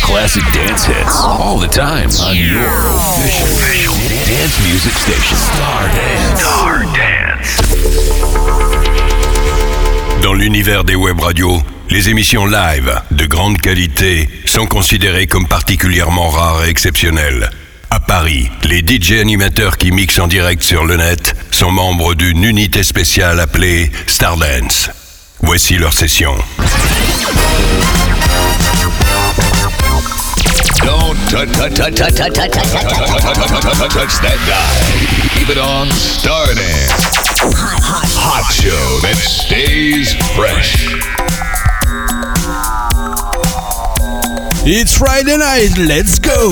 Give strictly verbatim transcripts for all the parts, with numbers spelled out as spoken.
classic dance hits all the time on your official dance music station. Star Dance. Star Dance. Dans l'univers des web radios, les émissions live de grande qualité sont considérées comme particulièrement rares et exceptionnelles. À Paris, les D J animateurs qui mixent en direct sur le net sont membres d'une unité spéciale appelée Star Dance. Voici leur session. Don't touch that dial. Keep it on Star Dance. Hot, hot, hot show that stays fresh. It's Friday night, let's go!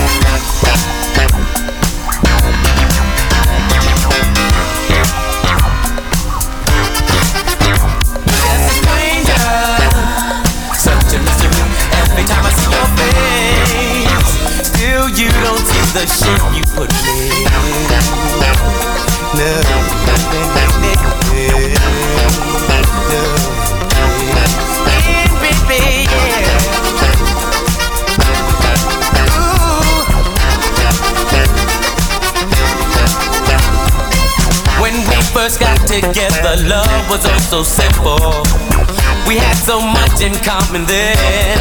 Every time I see your face, still you don't see the shit you put me in. No, no, baby, yeah. Ooh. When we first got together, love was oh so simple. We had so much in common then.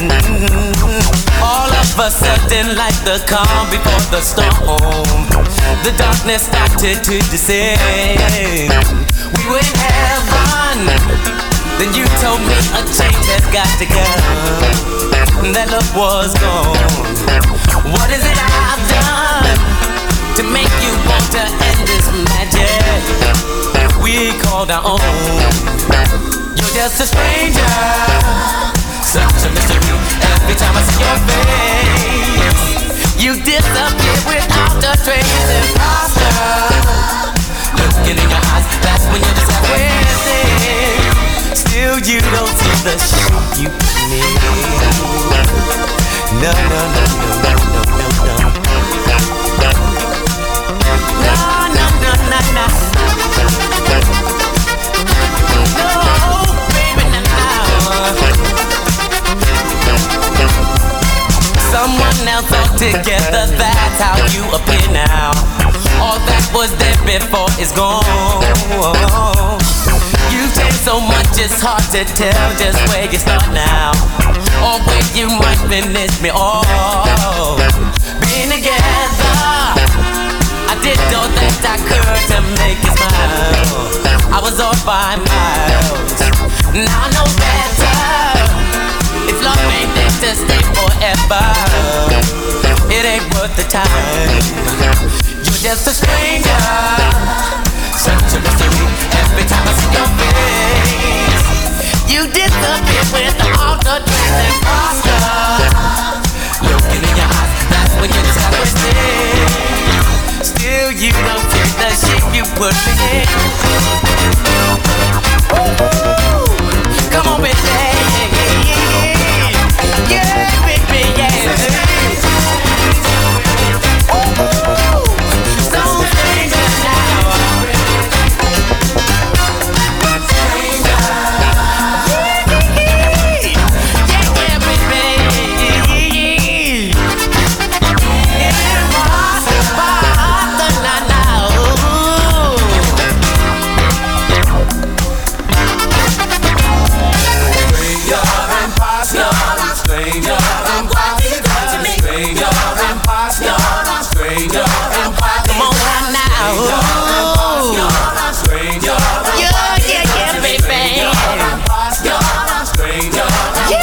All of a sudden, like the calm before the storm, the darkness started to descend. We were in heaven. Then you told me a change has got to come. That love was gone. What is it I've done to make you want to end this magic we called our own? You're just a stranger, such a mystery. Every time I see your face, you disappear without a trace. Imposter, looking in your eyes, that's when you decide where's it. Still you don't see the shit you put me in. No, no, no, no, no, no, no, no. No, no, no, no, no. Someone else altogether, that's how you appear now. All that was there before is gone. You've changed so much, it's hard to tell just where you start now, or where you might finish me off. Being together, I did all that I could to make you smile. I was off by miles, now I know better. If love ain't there to stay forever, it ain't worth the time. You're just a stranger, such a mystery. Every time I see your face, you disappear without a trace. Imposter, looking in your eyes, that's when you decide what's there. Still you don't get the shape you put me in. Ooh, come on, baby. Yeah, baby, yeah. Ooh, so stranger now. Stranger. Yeah, yeah, baby. Yeah, boss, boss, na na. Stranger and imposter. Stranger and imposter, stranger and imposter, stranger and imposter. Come on now, stranger, yeah, yeah, yeah, baby. Stranger and imposter, stranger and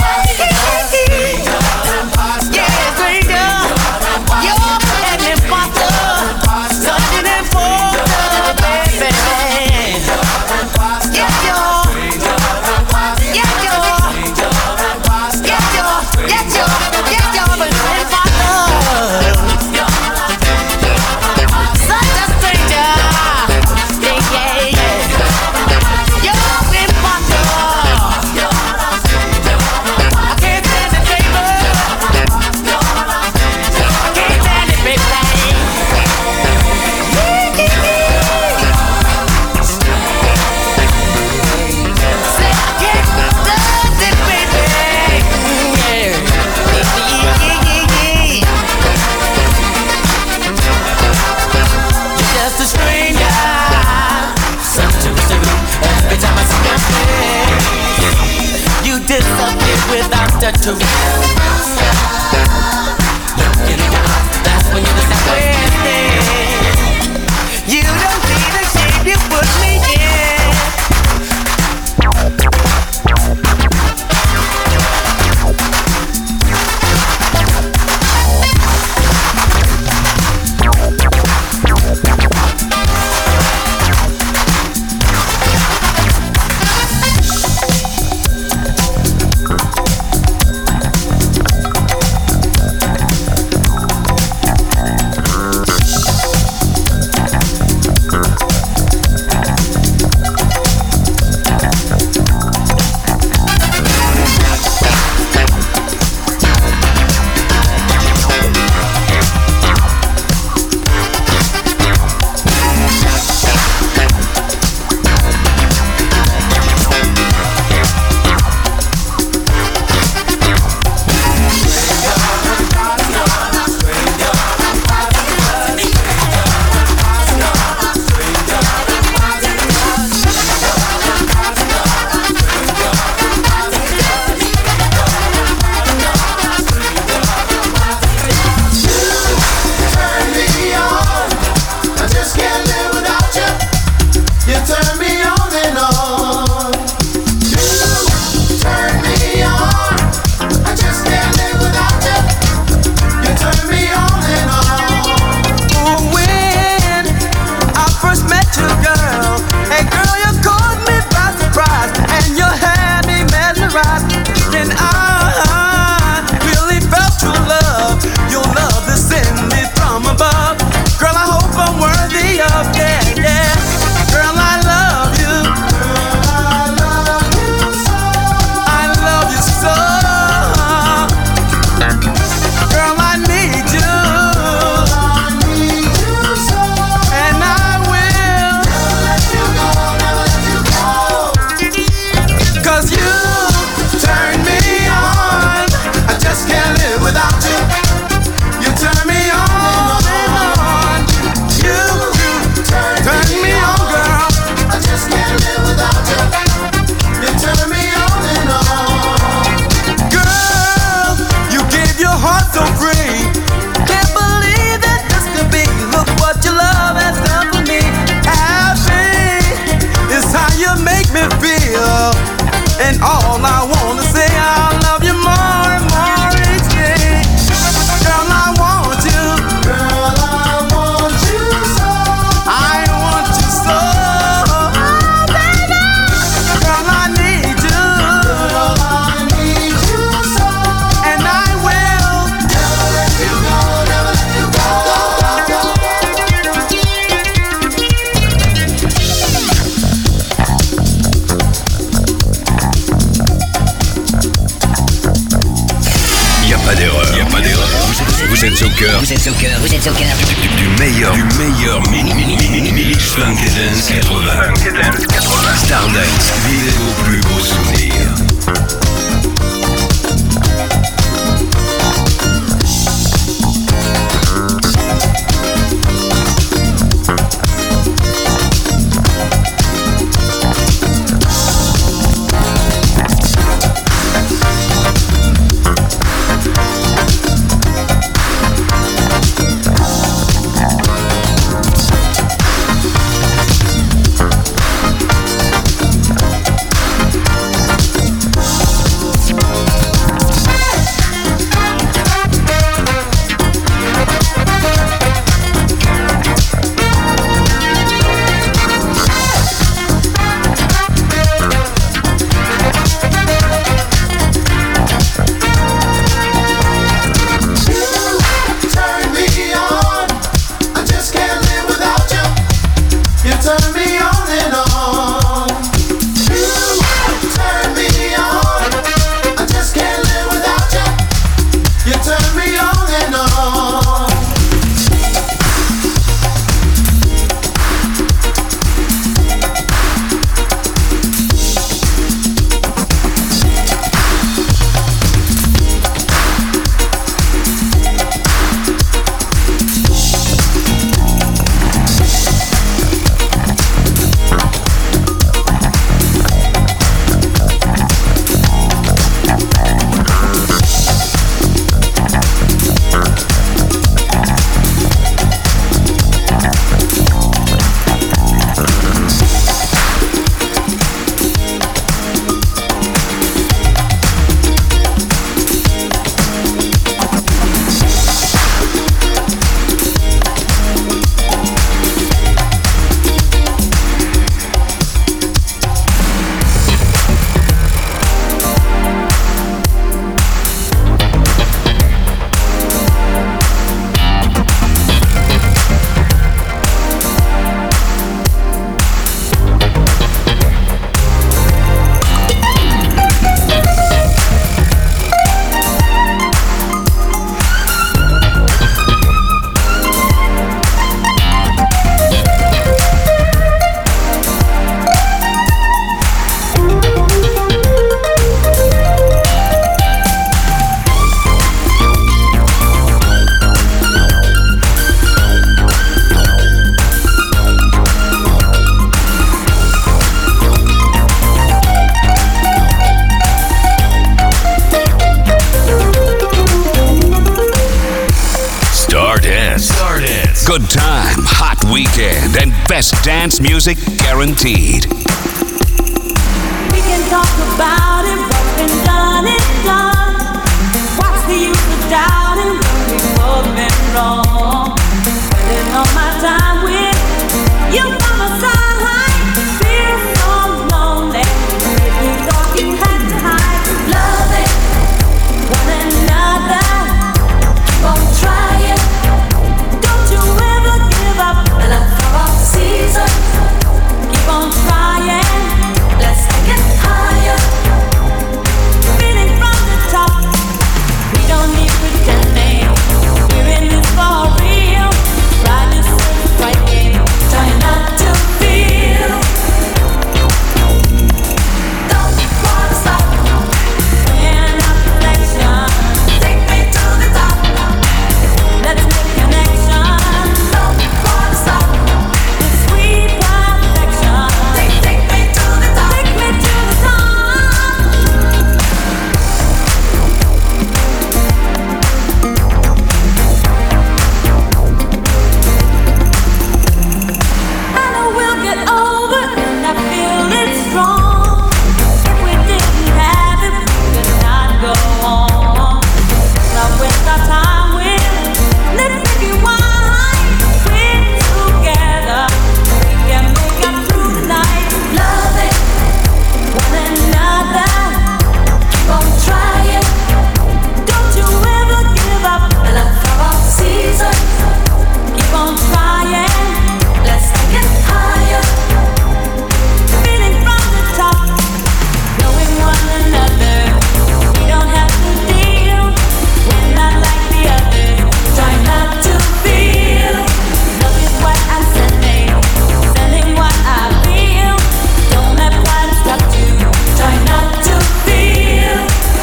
imposter, yeah, stranger, you're an imposter, such an imposter, baby. Yeah, you're, yeah, you're, yeah, you're, yeah, you're. master to looking down. That's when you decide where you don't see the shape you put me in. Vous êtes au cœur. Vous êtes au cœur. Vous êtes au cœur. Du, du, du meilleur. Du meilleur mini mini mini mini Funk and Dance quatre-vingts. Funk and Dance quatre-vingts. Stardance. Vivez vos plus beaux souvenirs. weekend and best dance music guaranteed. We can talk about it, what's been done is done. What's the use of doubting when we've both been wrong? Spending all my time with you by my side, feel so lonely. If you thought you had to hide, loving one another, keep on trying. Don't you ever give up. I love for all seasons. Keep on trying. Let's take it higher. Feeling from the top. We don't need pretending. We're in this for real. Ride this right game. Try not to feel. Don't wanna stop. We're not perfection. Take me to the top. Let's make connection. Don't wanna stop. This sweet perfection. Take, take me to the top. Take me to the top. I know we'll get over it, and I feel it's strong. If we didn't have it, we could not go on. Not waste our time with let's make it wine. We're together, we can make it through the night. Loving one another, keep on trying. Don't you ever give up. I love for all seasons. Keep on trying. Let's take it higher. Feeling from the top, knowing one another. We don't have to deal. We're not like the others. Try not to feel. Love is what I'm sending, sending what I feel. Don't let pride stop you. Try not to feel.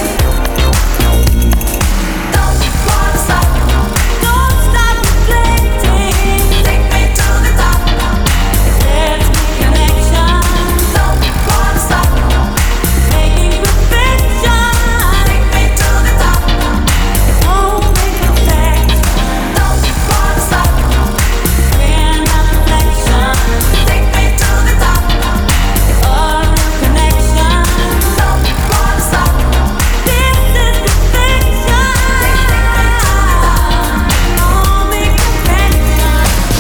Don't wanna stop. Don't stop reflecting. Take me to the top. Let's make connection. Don't wanna stop. Making perfection. Take me to the top. Won't make perfection. Don't wanna stop. We're not perfection. Take me to the top. A real connection. Don't wanna stop. This is perfection. Take me to the top. Won't make perfection.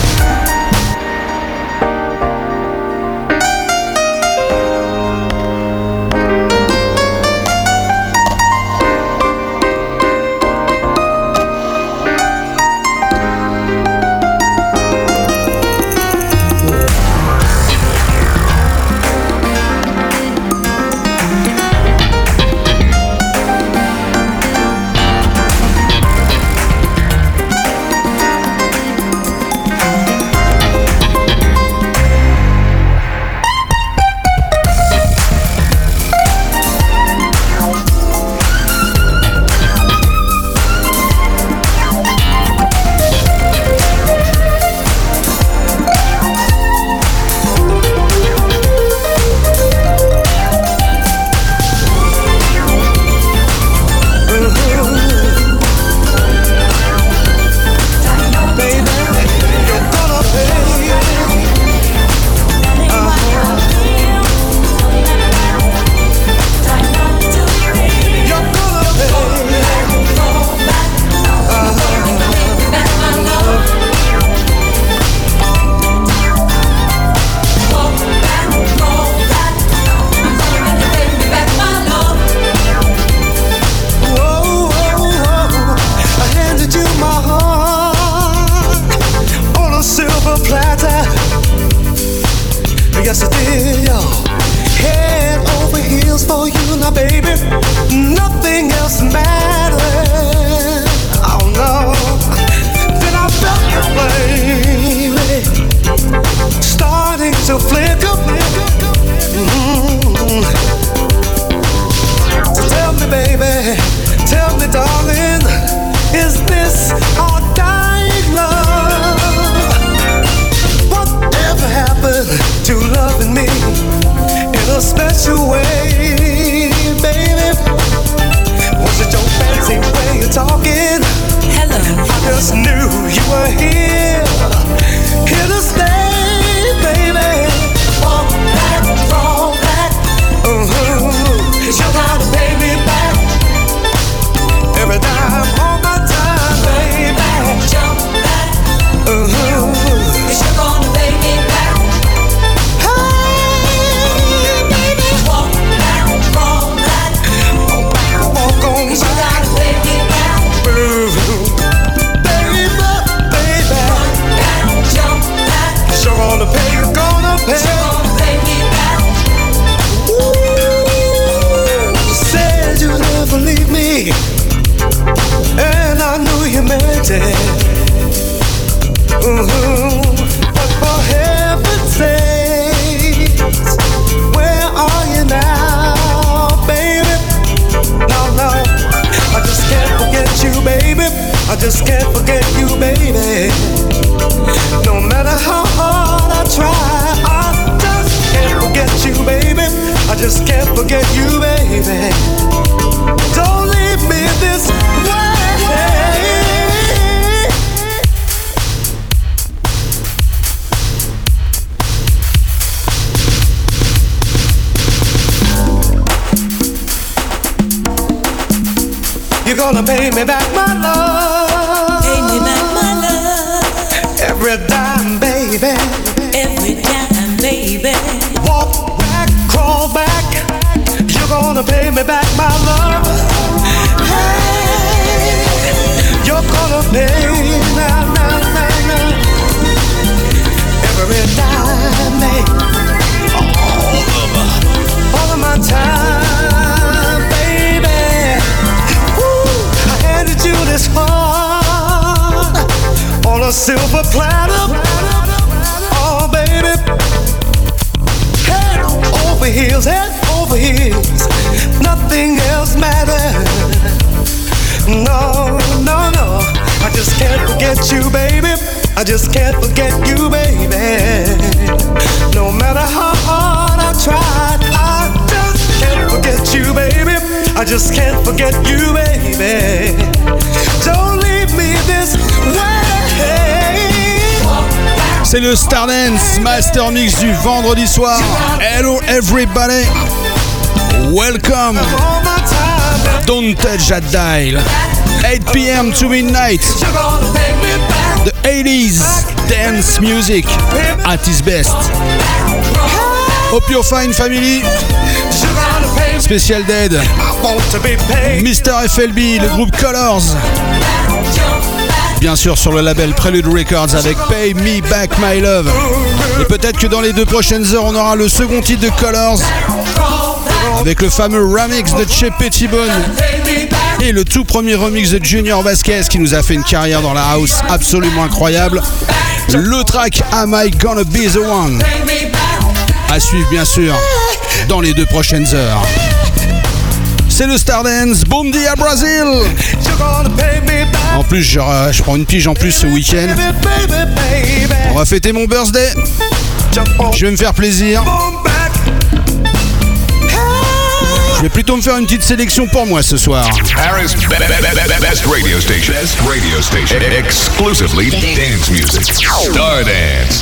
Yes, I did, yo. Head over heels for you now, baby. Nothing else matters. Oh no. Then I felt the flame starting to flicker. Mm-hmm. So tell me, baby, tell me, darling, is this our dying love? Whatever happened to loving me in a special way, baby? Was it your fancy way of talking? Hello. I just knew you were here, here to stay. Ooh, but for heaven's sakes, where are you now, baby? No, no, I just can't forget you, baby. I just can't forget you, baby. No matter how hard I try, I just can't forget you, baby. I just can't forget you, baby. Don't leave me this way. You're gonna pay me back my love. Pay me back my love. Every dime, baby. Every time, baby. Walk back, crawl back. You're gonna pay me back my love. Hey, you're gonna pay me now, now, now, now. Every dime, baby. All of, all of my time, baby. Woo, I handed you this heart on a silver platter. Oh, baby. Head over heels, head over heels. Nothing else matters. No, no, no. I just can't forget you, baby. I just can't forget you, baby. No matter how hard I try, I just can't forget you, baby. I just can't forget you, baby. Don't leave me this way. C'est le Stardance Master Mix du vendredi soir. Hello everybody. Welcome. Don't touch that dial. eight p.m. to midnight. The eighties dance music at its best. Hope you're fine, family. Special Dead. Mister F L B, le groupe Colors. Bien sûr sur le label Prelude Records avec Pay Me Back My Love. Et peut-être que dans les deux prochaines heures on aura le second titre de Colors avec le fameux remix de Che Pettibone et le tout premier remix de Junior Vasquez qui nous a fait une carrière dans la house absolument incroyable. Le track Am I Gonna Be The One, à suivre bien sûr dans les deux prochaines heures. C'est le Stardance, Bom Dia Brazil. En plus, je, je prends une pige en plus ce week-end. On va fêter mon birthday. Je vais me faire plaisir. Je vais plutôt me faire une petite sélection pour moi ce soir. Paris best radio station. Best radio station. Exclusively dance music. Stardance.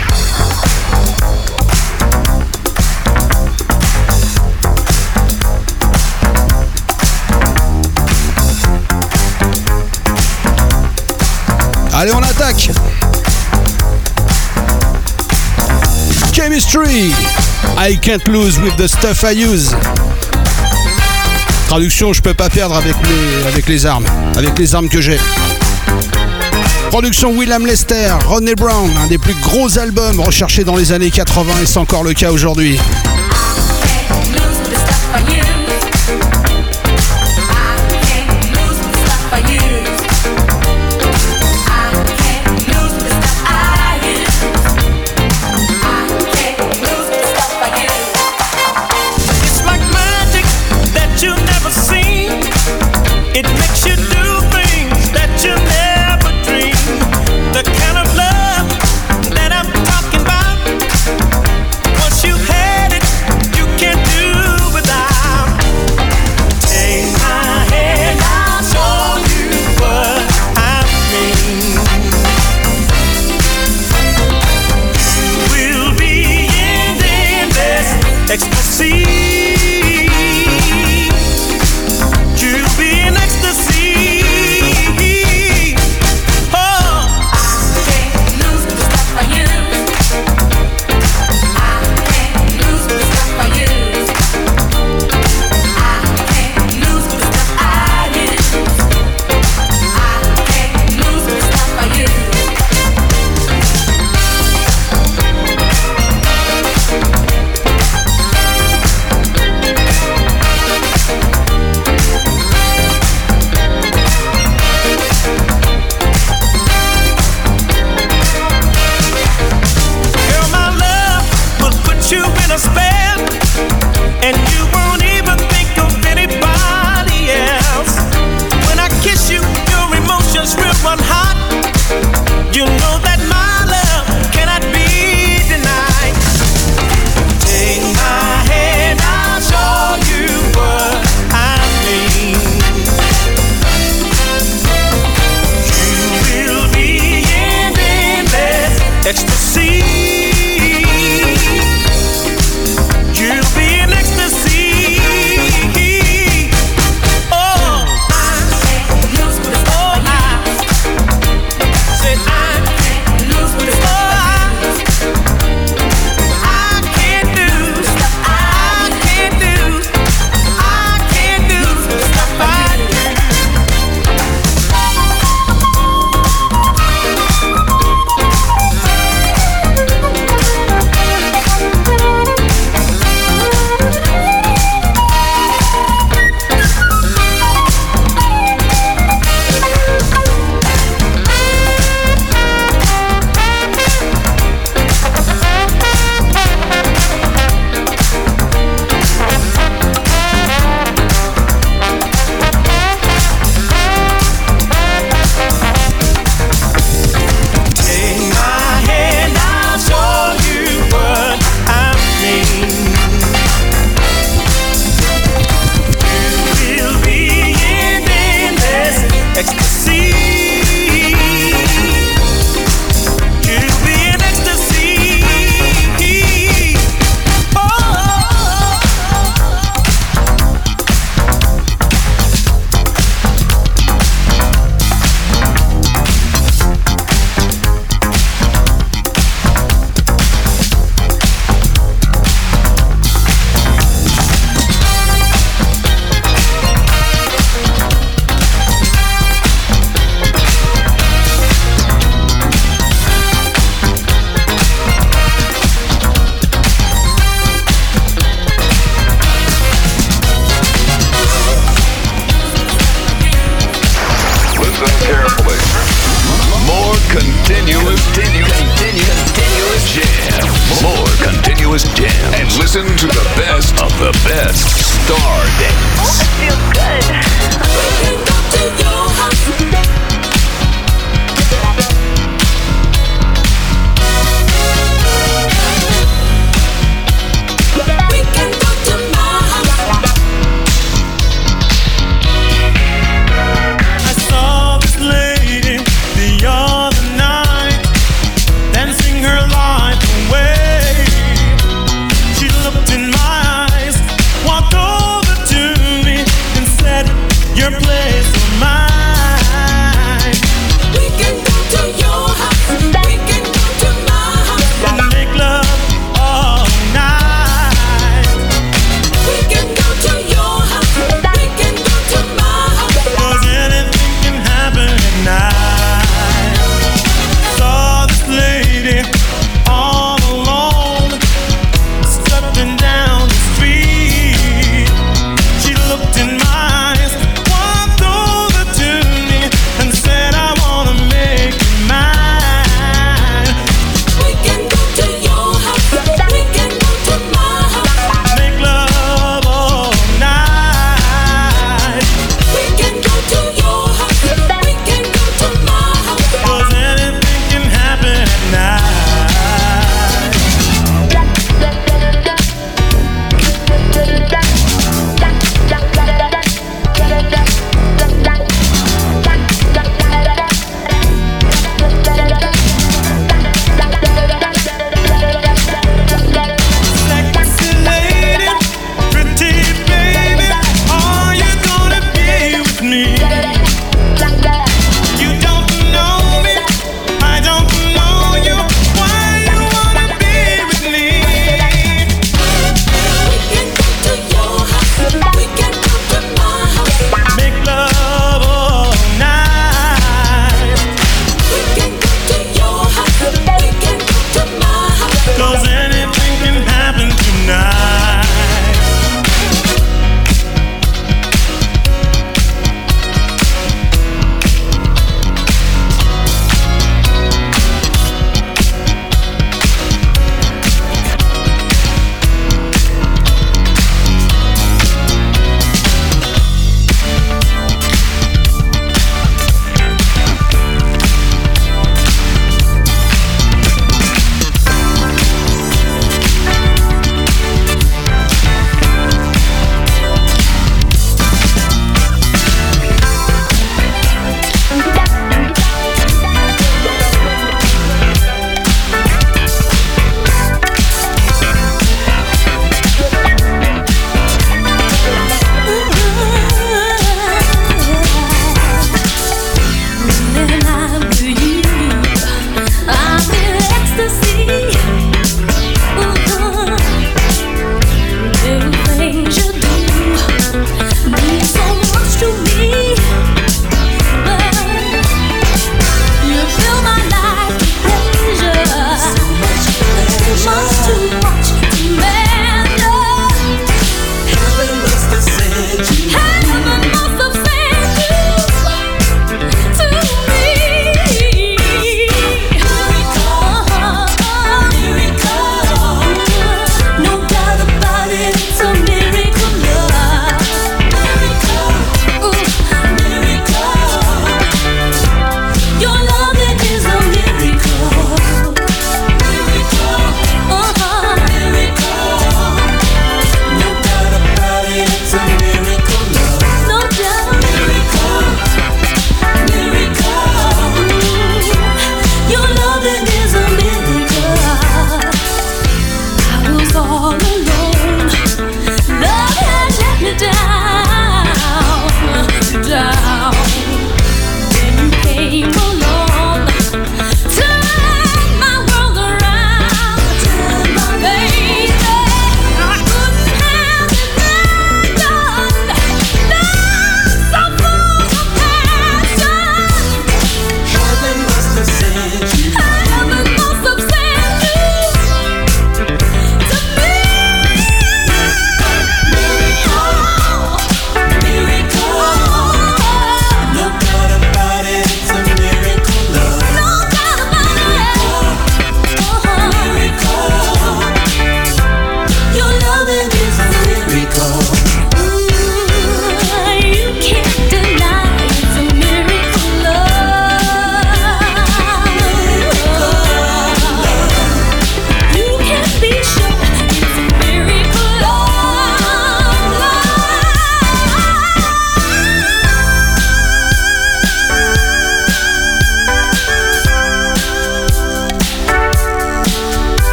Allez, on attaque. Chemistry. I can't lose with the stuff I use. Traduction, je peux pas perdre avec les, avec les armes, avec les armes que j'ai. Production William Lester, Ronnie Brown, un des plus gros albums recherchés dans les années quatre-vingts et c'est encore le cas aujourd'hui. You'll be in ecstasy. continuous, continuous, continuous jam. More continuous jam. And listen to the best of the best. Star Dance. That feels good. We can go to your house. Your place or mine.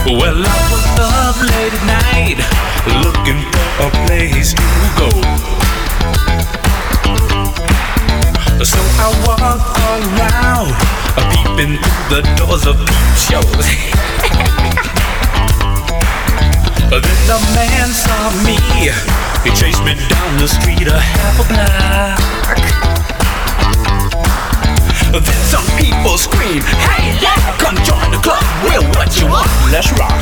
Well, I was up late at night, looking for a place to go. So I walked around, peeping through the doors of peep shows. Then the man saw me, he chased me down the street a half a block. Then some people scream, hey, yeah, come join the club. Well, what you want? Let's rock.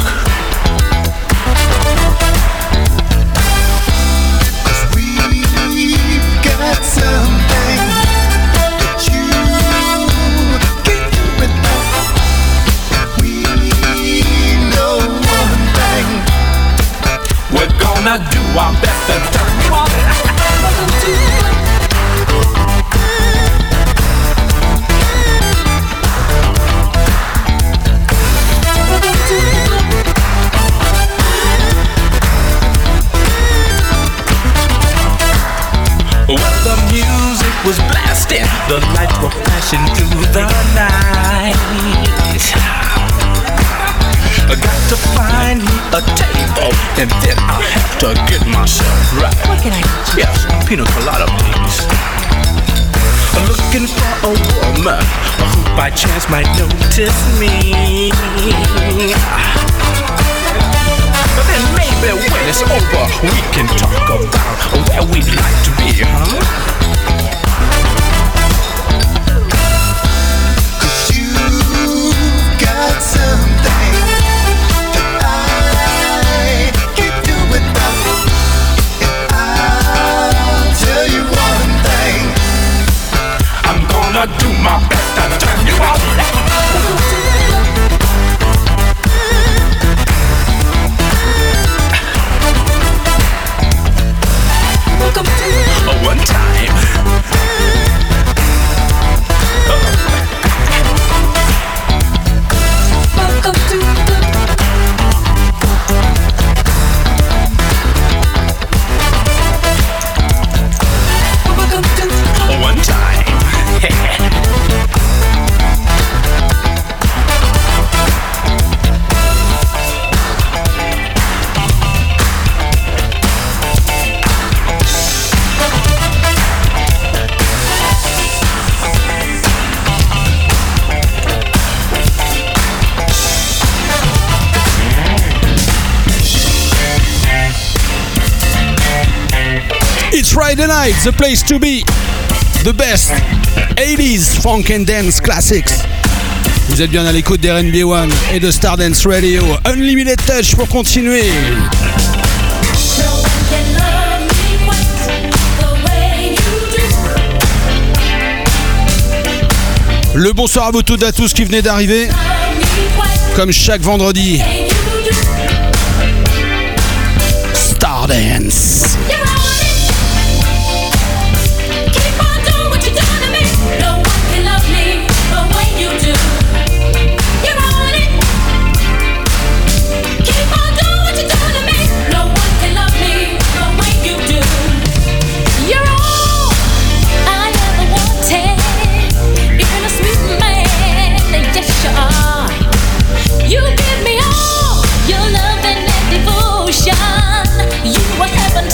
Cause we've got something that you can't do without. We know one thing. We're gonna do our best to turn you on. Welcome to the club. Well, the music was blasting, the lights were flashing through the night. I got to find me a table, and then I'll have to get myself right. What can I get you? Yes, pina colada, please. Looking for a woman who by chance might notice me. But then maybe when it's over, we can talk about where we'd like to be, huh? Cause you've got something that I can't do without. And I'll tell you one thing, I'm gonna do my best to turn you on. One time. Welcome to the Welcome to One time. It's Friday night, the place to be. The best eighties funk and dance classics. Vous êtes bien à l'écoute d'R and B one et de Stardance Radio. Unlimited Touch pour continuer. Le bonsoir à vous toutes et à tous qui venez d'arriver. Comme chaque vendredi. Stardance. You give me all your love and devotion. You were heaven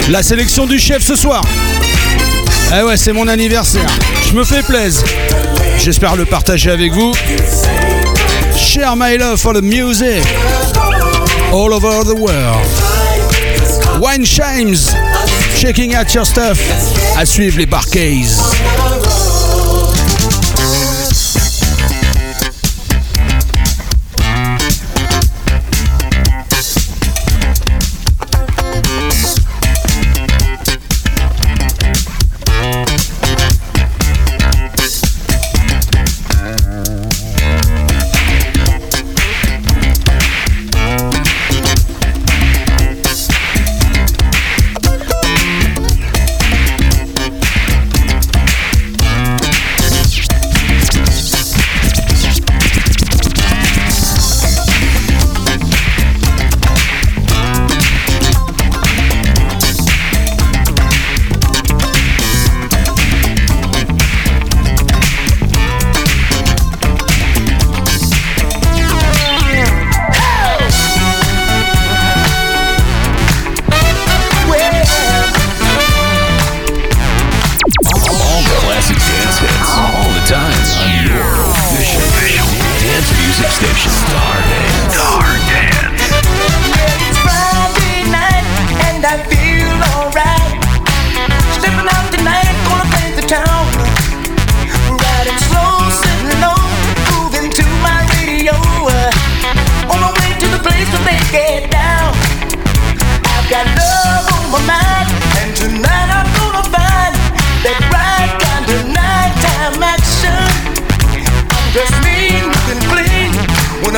La sélection du chef ce soir. Eh ouais, c'est mon anniversaire. Je me fais plaisir. J'espère le partager avec vous. Share my love for the music all over the world. Wine Chimes, checking out your stuff. À suivre les Barcays. When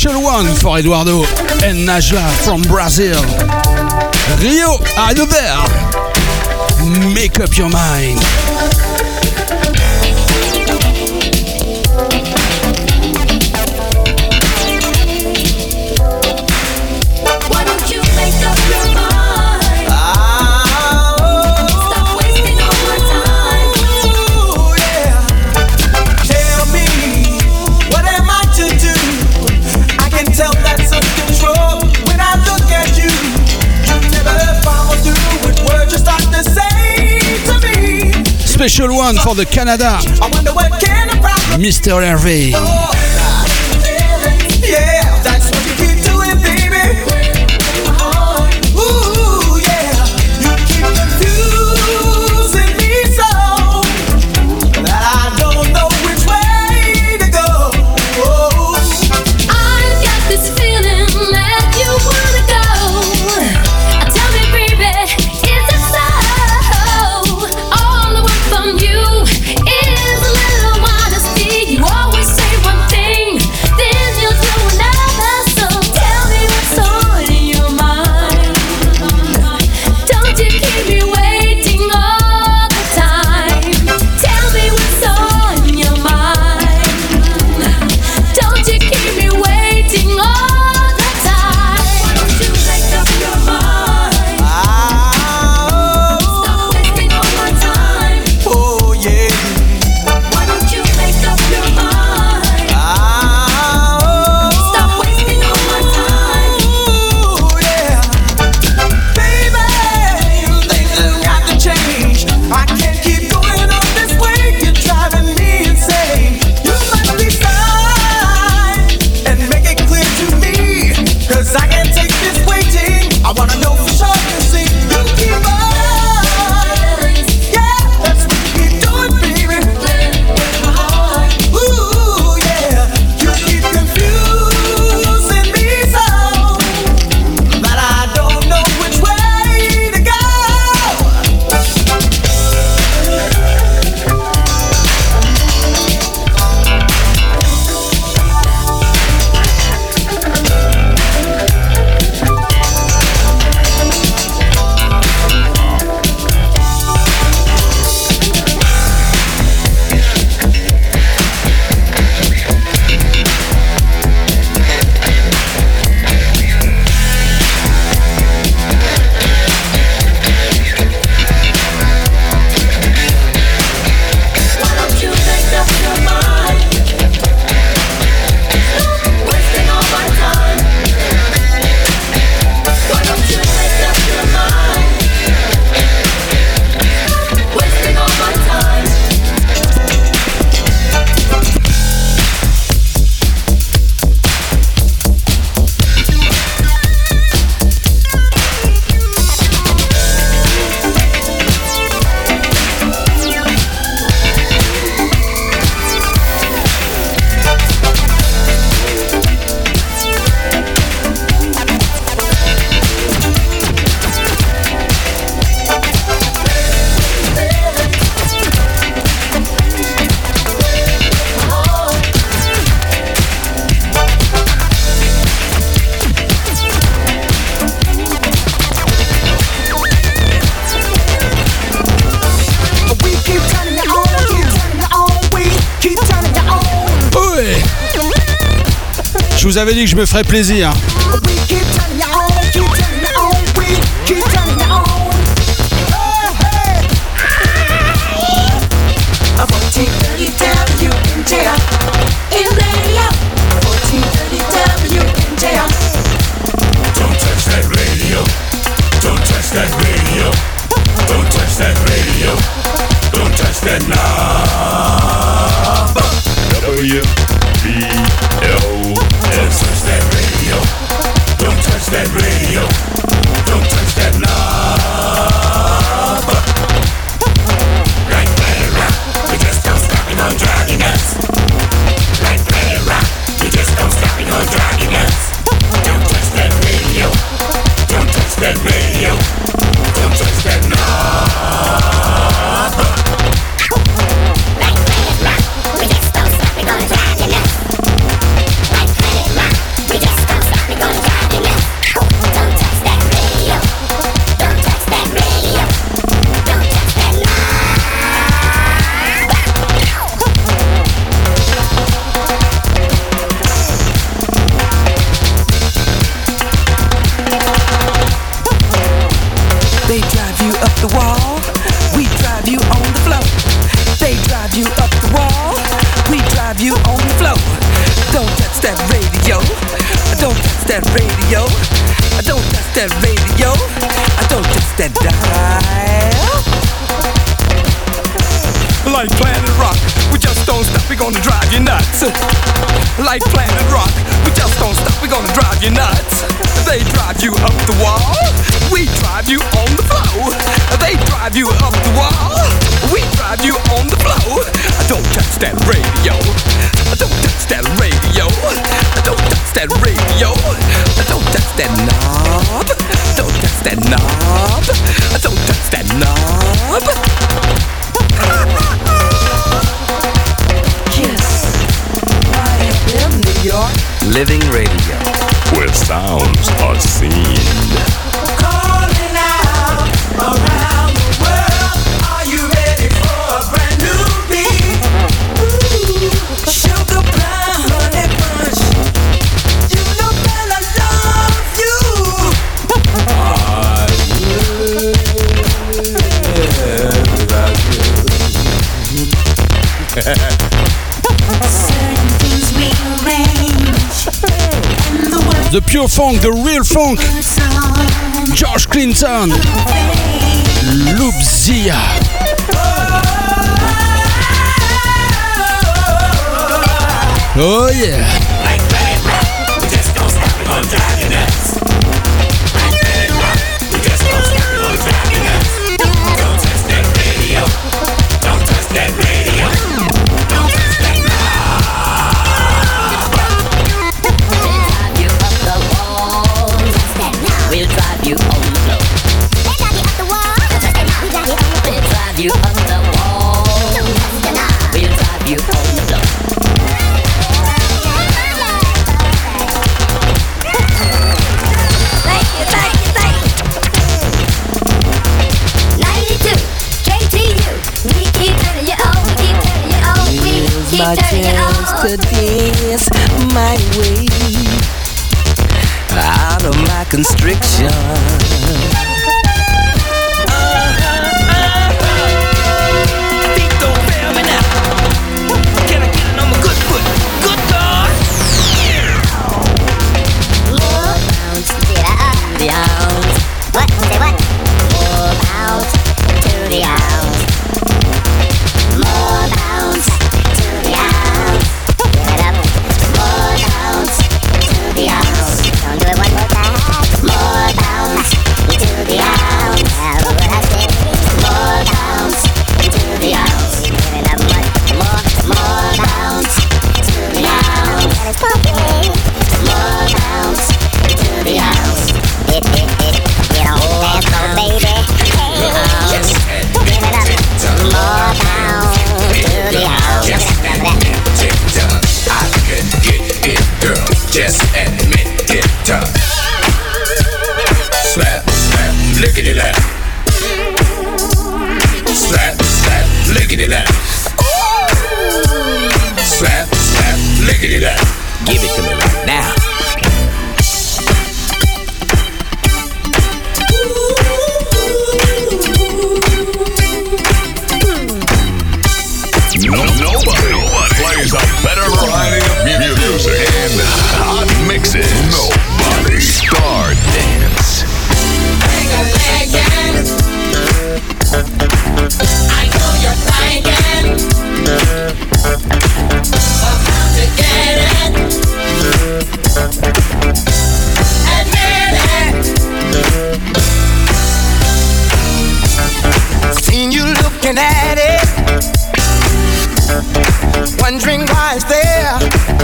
Special one for Eduardo and Najla from Brazil. Rio, are you there? Make up your mind. Special one for the Canada, Mister Hervé. Yeah, that's what you keep doing, baby. Ooh, yeah, you keep confusing me so that I don't know which way to go. Oh. I've got this feeling that you wanna go. Tell me, baby, is it so? All I want from you is a little honesty. You always say one thing, then you'll do another. So tell me what's on your mind. Don't you keep me waiting all the time. Tell me what's on your mind. Don't you keep me waiting all the time. Why don't you make up your mind? Stop wasting all my time. Oh, yeah. Why don't you make up your mind? Stop wasting all my time. Ooh, yeah. Baby, things have got to change. I can't keep going on this way. You're driving me insane. You must be fine and make it clear to me, 'cause I can't take this waiting. I wanna know for sure. You see, you keep on. Yeah, that's what you keep doing, baby. Ooh, yeah, you keep confusing me so that I don't know which way to go. Why don't you make up your mind? Stop wasting all my time. Why don't you make up your mind? Stop wasting all my time. We keep turning it on, keep turning it on, we keep turning it on. Ouais. Je vous avais dit que je me ferais plaisir. We keep turning it on, keep turning it on, we keep turning it on. Oh, hey. A fourteen thirty W N J R in radio. fourteen thirty W N J R. Don't touch that radio. Don't touch that radio. Don't touch that radio. Don't touch that knob. W B L S. Touch that radio. Don't touch that radio. Don't touch that dial. Like Planet Rock, we just don't stop, we gonna drive you nuts. Like Planet Rock, we just don't stop, we gonna drive you nuts. They drive you up the wall, we drive you on the floor. They drive you up the wall, we drive you on the floor. Don't touch that radio, don't touch that radio, don't touch that radio, don't touch that knob, don't touch that knob, don't touch that knob. Yes, I am New York. Living radio, where sounds are seen. Calling out around the world. Are you ready for a brand new beat? Ooh, sugar pie, honey bunch. You know that I love you. I The pure funk, the real funk. George Clinton. Loopzilla. Oh yeah. Like Planet Rock, we just don't stop, we gon' drive you nuts. Like Planet Rock, we just don't stop, we gon' drive you nuts. Don't touch that radio, don't touch that radio, don't touch that knob. We'll drive you up the wall. We'll drive you on the floor. We'll drive you up the wall. We'll drive you on the floor. Thank you, thank you, thank you. ninety-two K T U. We keep turning you on, we keep turning you on, we keep turning you on. To dance my way out of my constriction. Feet don't fail me now. Can I get it on my good foot? Good God. More bounce to the ounce. What? Say what? More bounce to the ounce. More bounce to the ounce. Give it up. More bounce to the ounce. Don't do it one more time. More bounce to the ounce. Have what I say. More bounce to the ounce. Give it up much more. More bounce to the ounce. And it's pumping. More bounce to the ounce. It, it, it. Get on dance floor, baby. Hey, um, give it up. More bounce to the ounce. Give it up. I can get it, girl. Just admit it. Slap, slap, lickety lap. Slap, slap, lickety lap. Slap, slap, lickety lap. Give it to me right now. No, nobody, nobody plays a better variety of mu- music and hot mixes. Nobody. Star Dance. I know you're thinking of how to get it. Admit it. Seen you looking at it, wondering why it's there.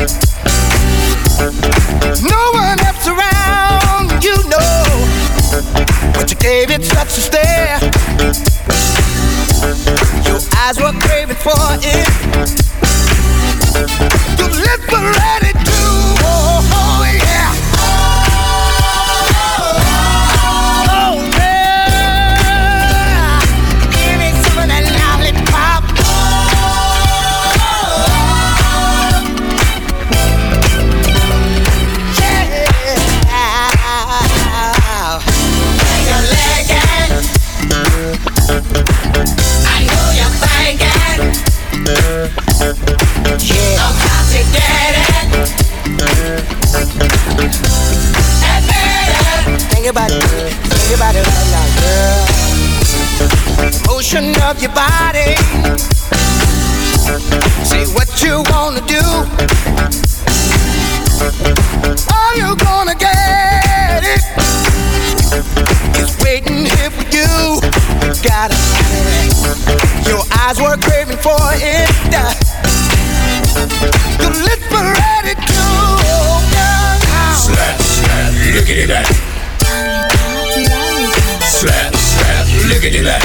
No one else around, you know, but you gave it such a stare. Your eyes were craving for it. Your lips were ready to, oh, oh yeah. Oh yeah. Give me some of that lollipop. Yeah. your body, girl. Shake your body right now, girl. Motion of your body. Say what you wanna do. Are you gonna get it? It's waiting here for you. You gotta have it. Your eyes were craving for it. Your lips were ready to open. Slap, slap, look at that. Slap, slap, look at that.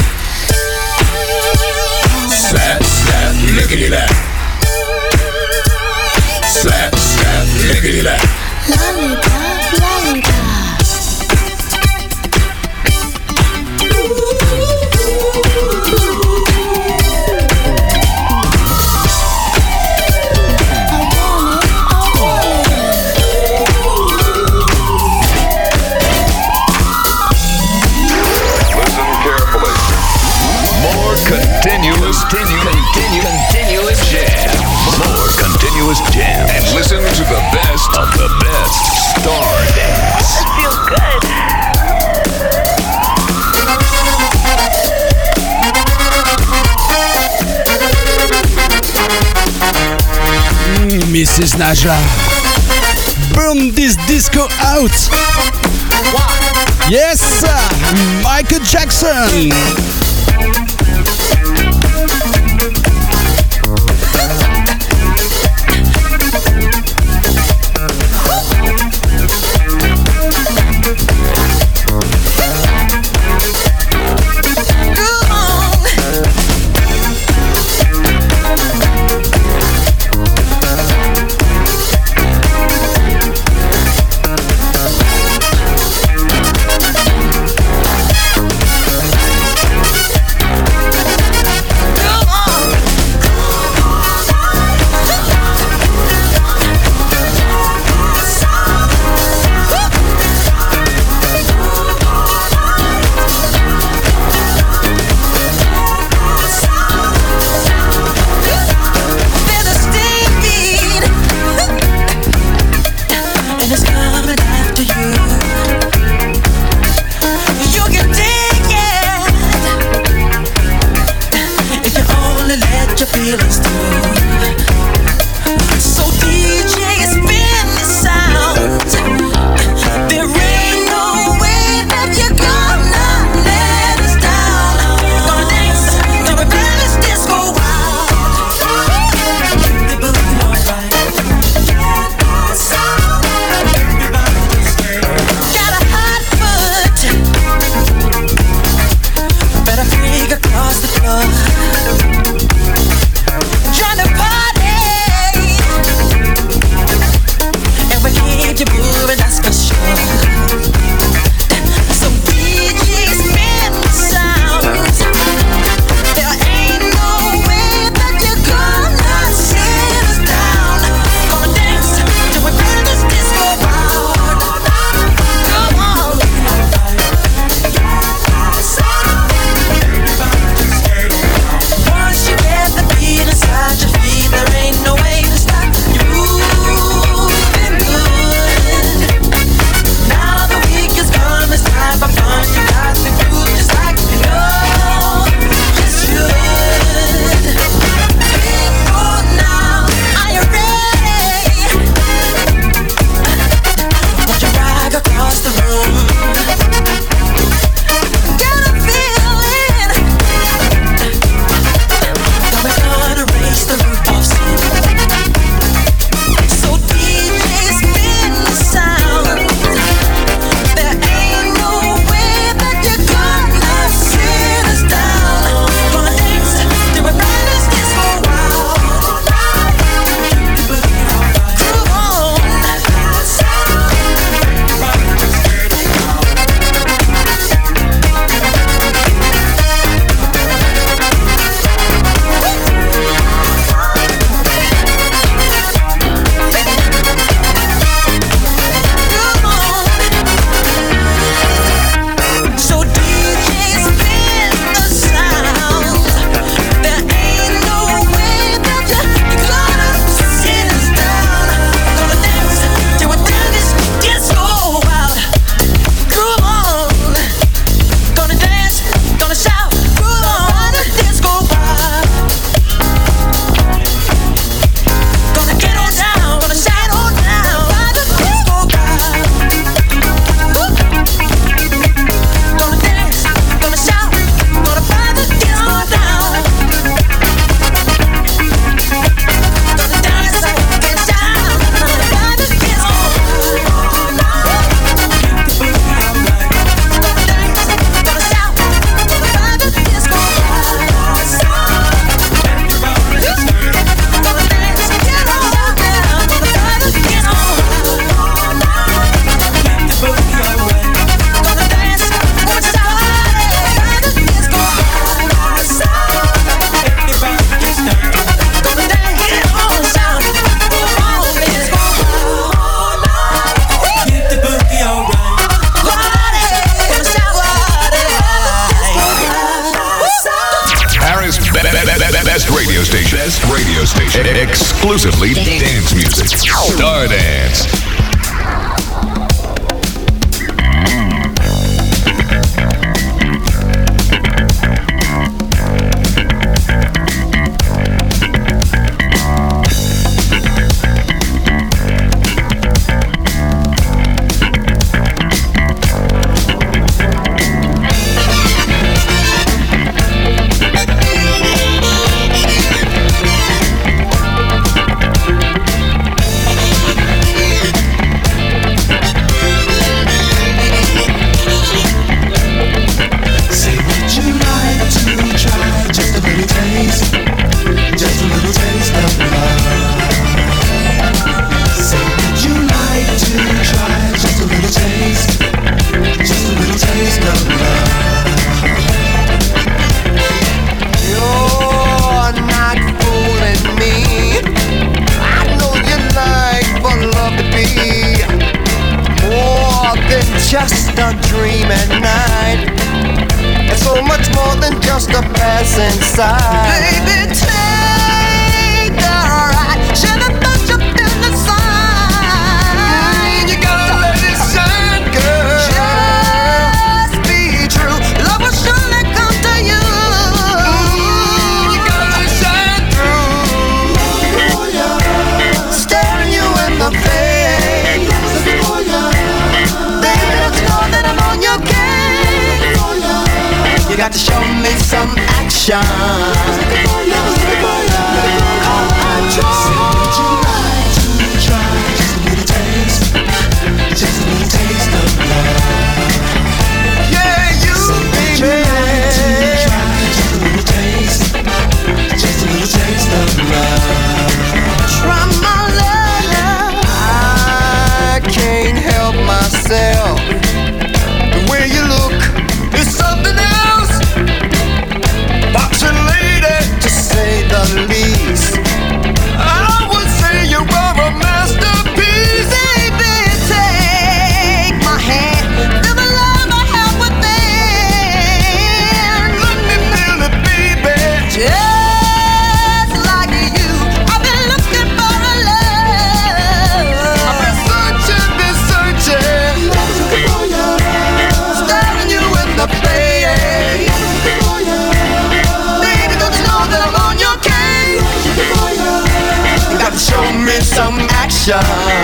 Slap, slap, look at that. Slap, slap, look at that. Lollipop, lollipop. Continuous, continue, continue, continuous jam. More continuous jam. And listen to the best of the best Star Dance. It feels good. Mm, Missus Najla, burn this disco out. Yes, Michael Jackson. radio station. Exclusively dance music. Stardance. Just a dream at night. It's so much more than just a passing sight. Baby, take the ride. Share the touch up in the sun. You gotta let it shine, girl. Just be true. Love will surely come to you. You gotta let it shine through. Staring you in the face. You got to show me some action. Come and try. Would you like to try just a little taste, just a little taste of love? Yeah, you baby. Would you like to try just a little taste, just a little taste of love? Try my love. I can't help myself. The way you look is something else. Boxing lady, to say the least. I would say you are a masterpiece. Baby, take my hand. Feel the love I have within. Let me feel it, baby. Just like you, I've been looking for a love. I've been searching, been searching. Staring you in the face. Show me some action.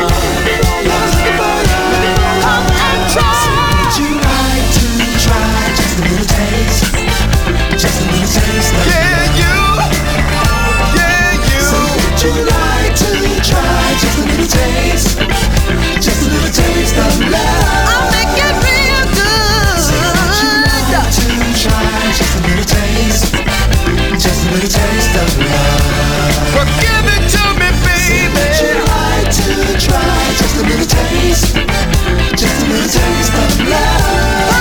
Come and try. Would you like to try just a little taste? Just a little taste of yeah, you. Yeah, you. So would you like to try just a little taste? Just a little taste of love. I'll make it real good. So would you like to try just a little taste? Just a little taste of love. Well, give it to me. Would you like to try just a little taste, just a little taste of love?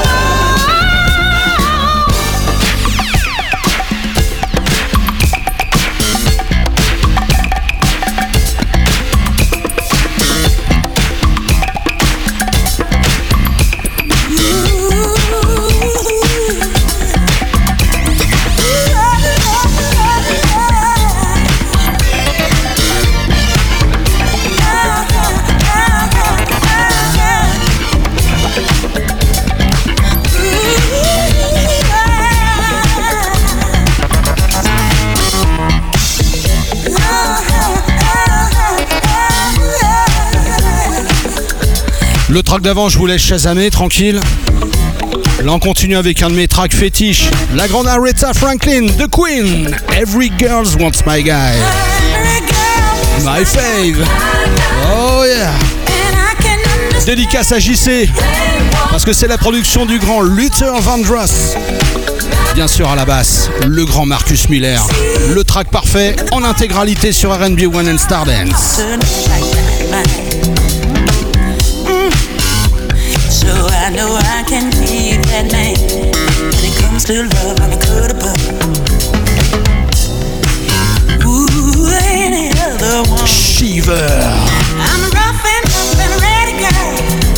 Le track d'avant, je vous laisse chasamer, tranquille. Là, on continue avec un de mes tracks fétiches. La grande Aretha Franklin, The Queen. Every girl wants my guy. My fave. Oh yeah. Dédicace à J C. Parce que c'est la production du grand Luther Vandross. Bien sûr à la basse, le grand Marcus Miller. Le track parfait en intégralité sur R and B One and Stardance. So I know I can be that man. When it comes to love, I'm a good above. Ooh, any other one. Shiver. I'm rough and tough and ready, girl.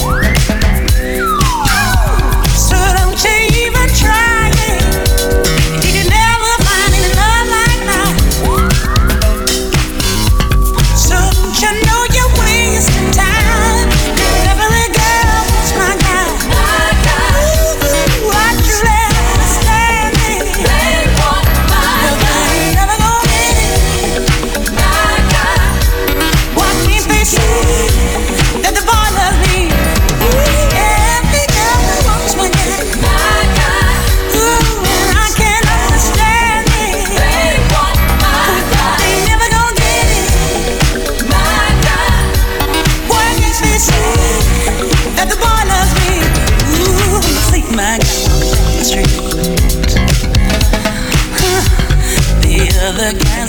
So don't you even try it. You can never find any love like mine.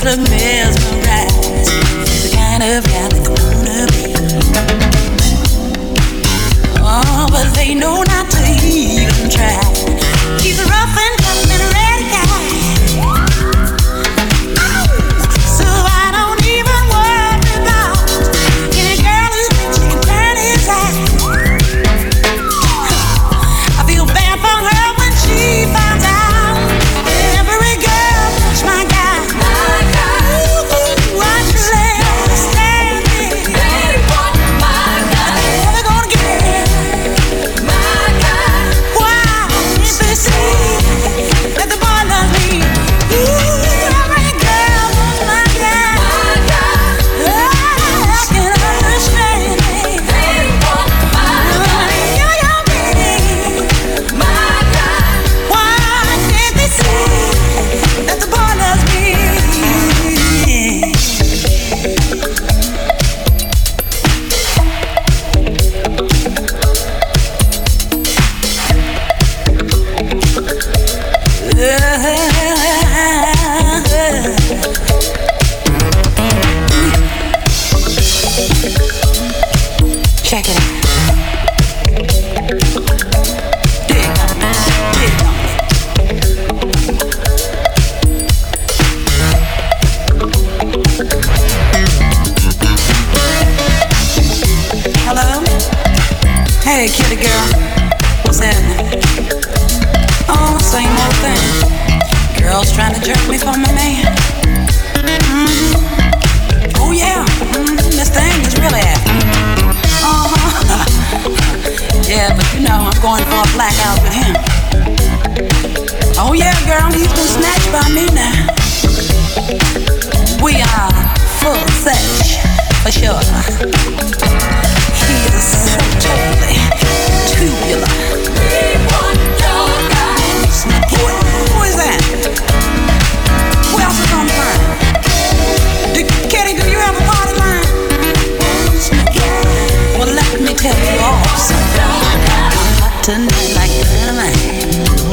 look mesmerized. He's the kind of guy that I wanna be. Oh, but they know not to even try. He's a rough and tough and ready guy. Oh, so I don't even worry about any girl who thinks she can turn his eye. I feel bad for her when she finds out. Every girl wants my guy. My guy. Ooh, I truly understand it. They want my guy. Never gonna get it. My guy. Why if they see that the boy loves me? Ooh, every girl wants my guy. My guy. I can understand it. They want my guy. Yeah, yeah, baby. My guy. Why can't they see that the boy loves me? Check it out. Dig on it, dig on it. Hello? Hey, kitty girl. What's happening? Oh, same old thing. Girls trying to jerk me for my man. Mm-hmm. Oh, yeah. Mm-hmm. This thing is really happening. Uh-huh. Yeah, but you know I'm going for a blackout with him. Oh, yeah, girl. He's been snatched by me now. We are full sex, for sure. He is so totally tubular. We want your guy. Who, who is that? Who else is on the line? Do, Kitty, do you have a party line? Well, let me tell you all something. I'm hot tonight like dynamite.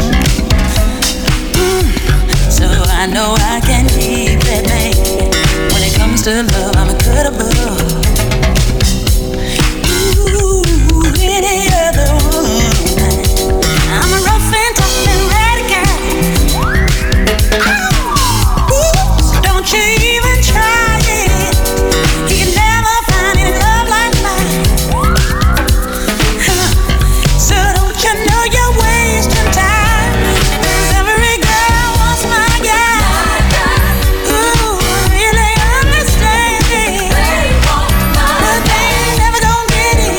Mm, so I know I can keep that man. When it comes to love, I'm a cut above. Ooh, any other woman. I'm a rough and tough and ready guy. Ooh, so don't you even try it. You can never find any love like mine. Huh. So don't you know you're wasting time? 'Cause every girl wants my guy. Ooh, I really understand it. But they ain't never gonna get it.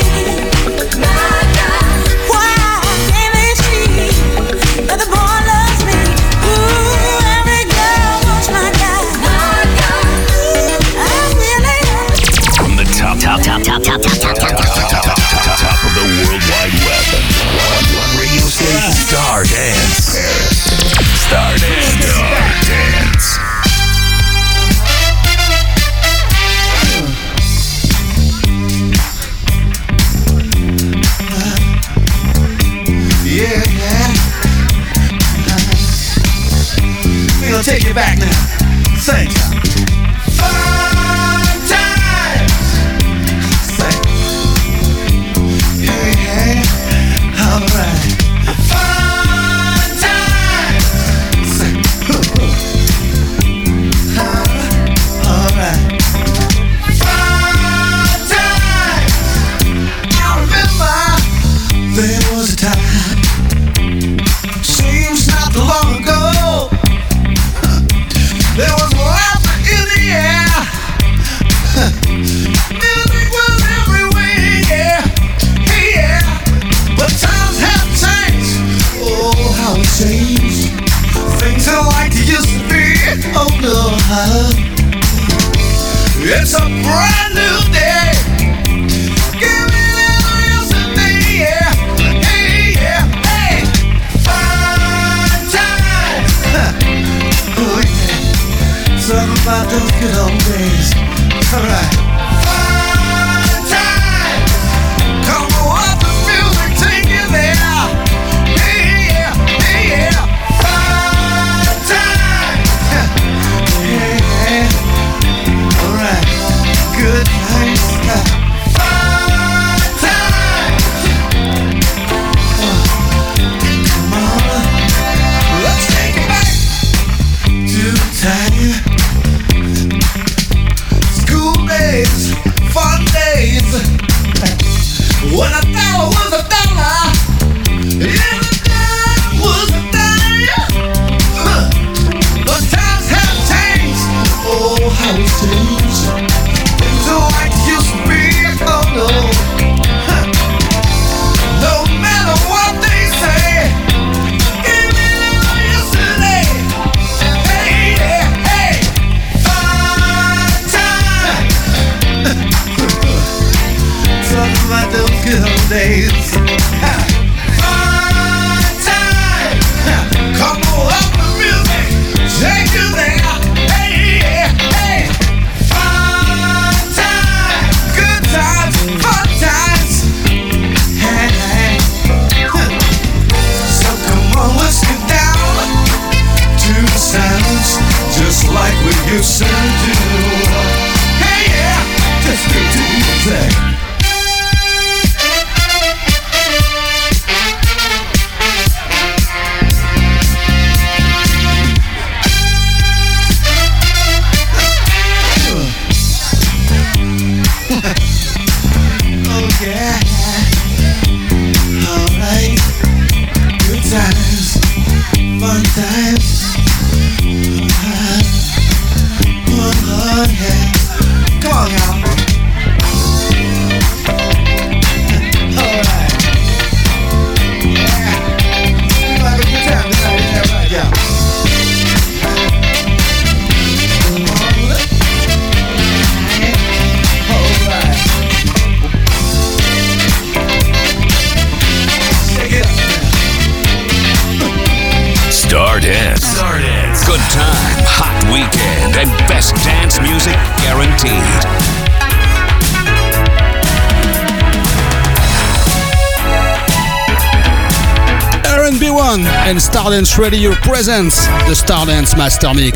Why can't they see that the boy loves me? Ooh, every girl wants my guy. Ooh, I really understand. From the top, top, top, top, top, top, top, top, top, top, top, top, top of the World Wide Web. One, one radio station. Star Dance. Star Dance. Star Dance. Yeah, yeah. We're gonna take it back now. Sing. Fun times. Sing. Yeah, yeah. All right. Fun times. Sing. All right. Fun times. I remember there was a time. Seems not too long ago. There was laughter in the air. Music was everywhere, yeah. Hey, yeah. But times have changed. Oh, how it changed. Things are like they used to be. Oh, no. It's a brand new day. Give me a little yesterday, yeah. Hey, yeah. Hey. Fun times. Oh, yeah. Something about those good old days. Alright. Fun times. Come on, the music, take you there. Hey, yeah. Hey, yeah. Fun times. Yeah, yeah. times, fun times. Oh, yeah. Come on, y'all. All right. Yeah. We're gonna have a good time tonight, isn't that right, y'all? All right. Check it out. Star Dance. Star Dance. Good time, hot weekend, and best dance music guaranteed. Aaron B one and Stardance Radio presents the Stardance Master Mix.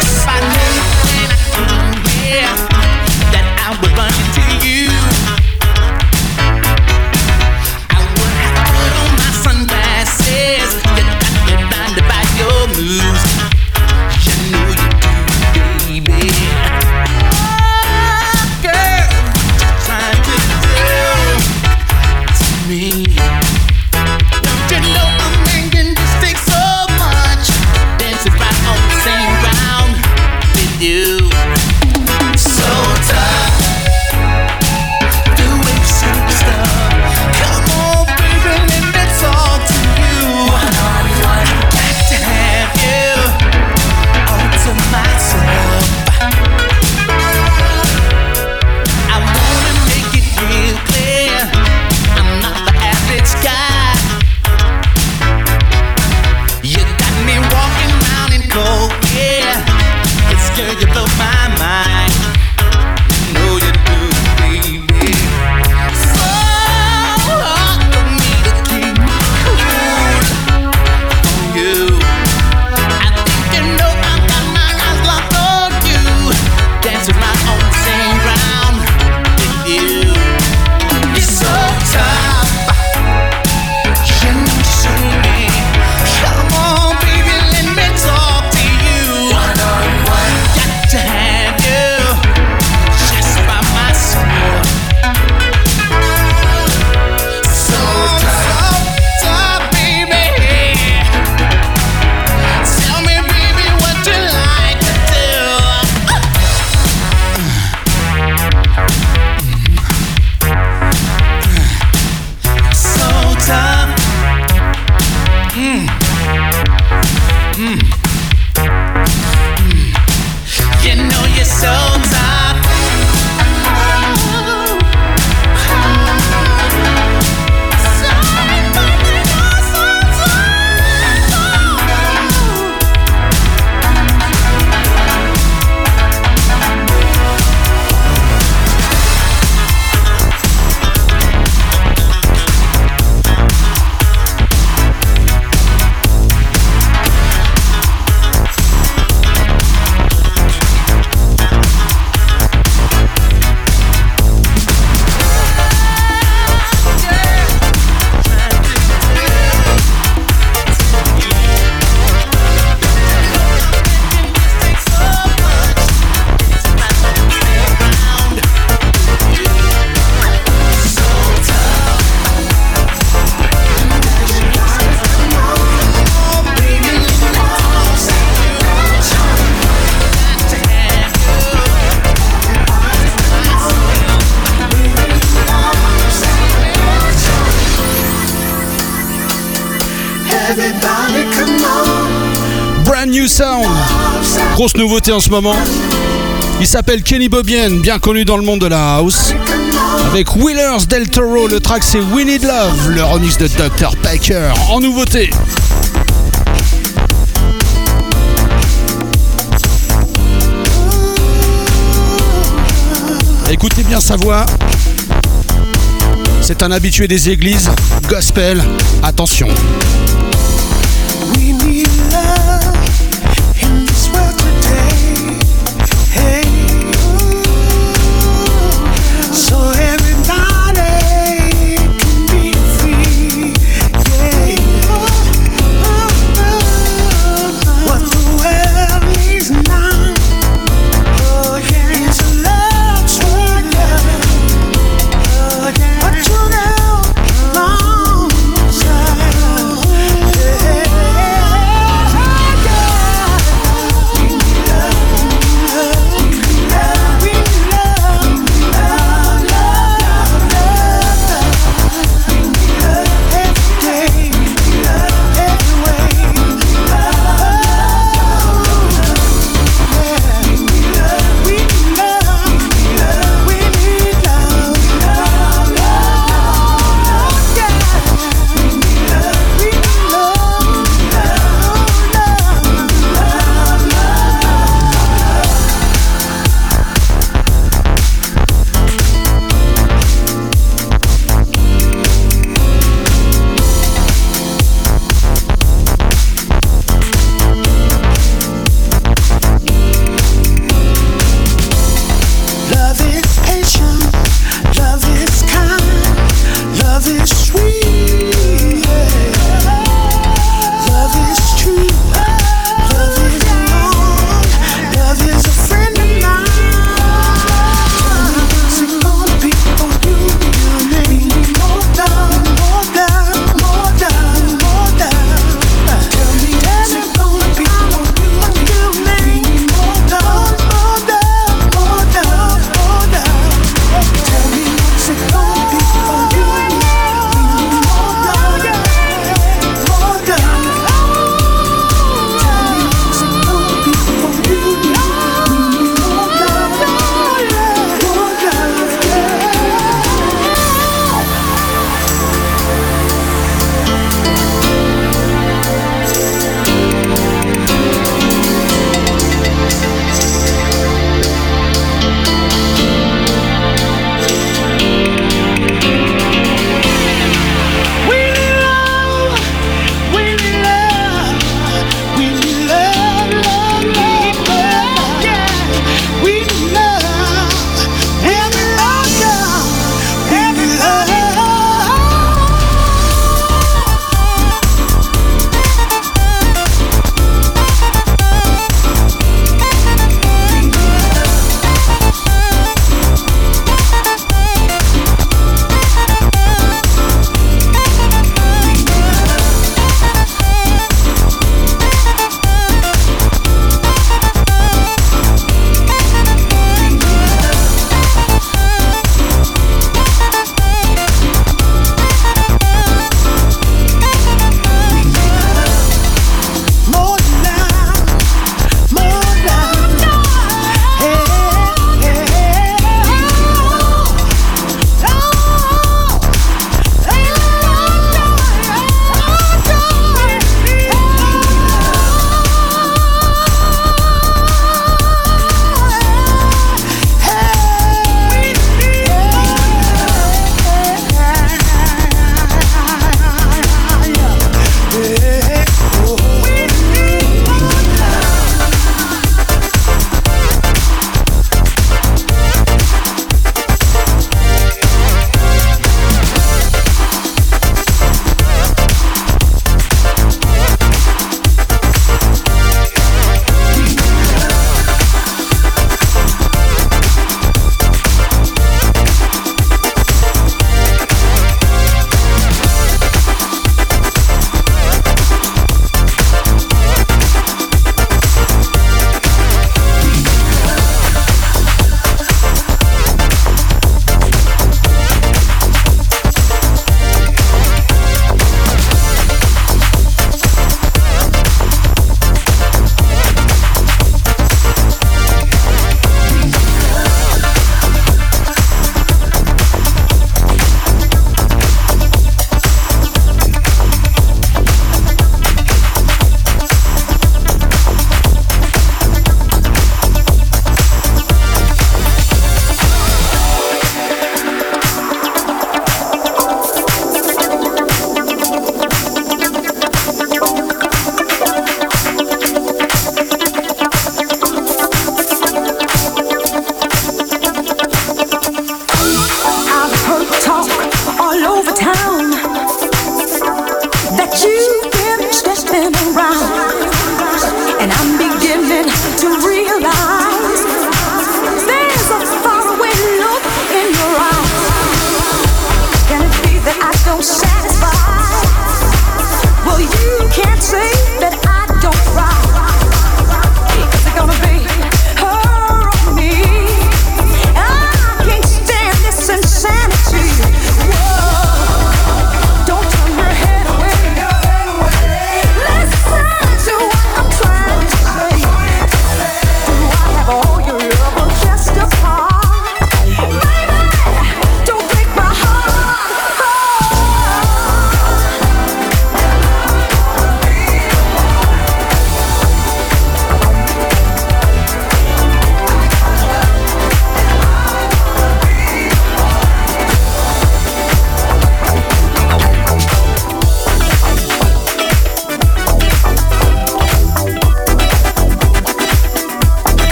Brand new sound. Grosse nouveauté en ce moment. Il s'appelle Kenny Bobien, bien connu dans le monde de la house. Avec Wheelers Del Toro, le track c'est We Need Love, le remix de docteur Packer en nouveauté. Écoutez bien sa voix. C'est un habitué des églises, gospel, attention. We need love in this world today. Hey, so everybody can be free. Yeah, what the world needs now. Oh yeah, it's a love struggle. Oh yeah, but you know, long time.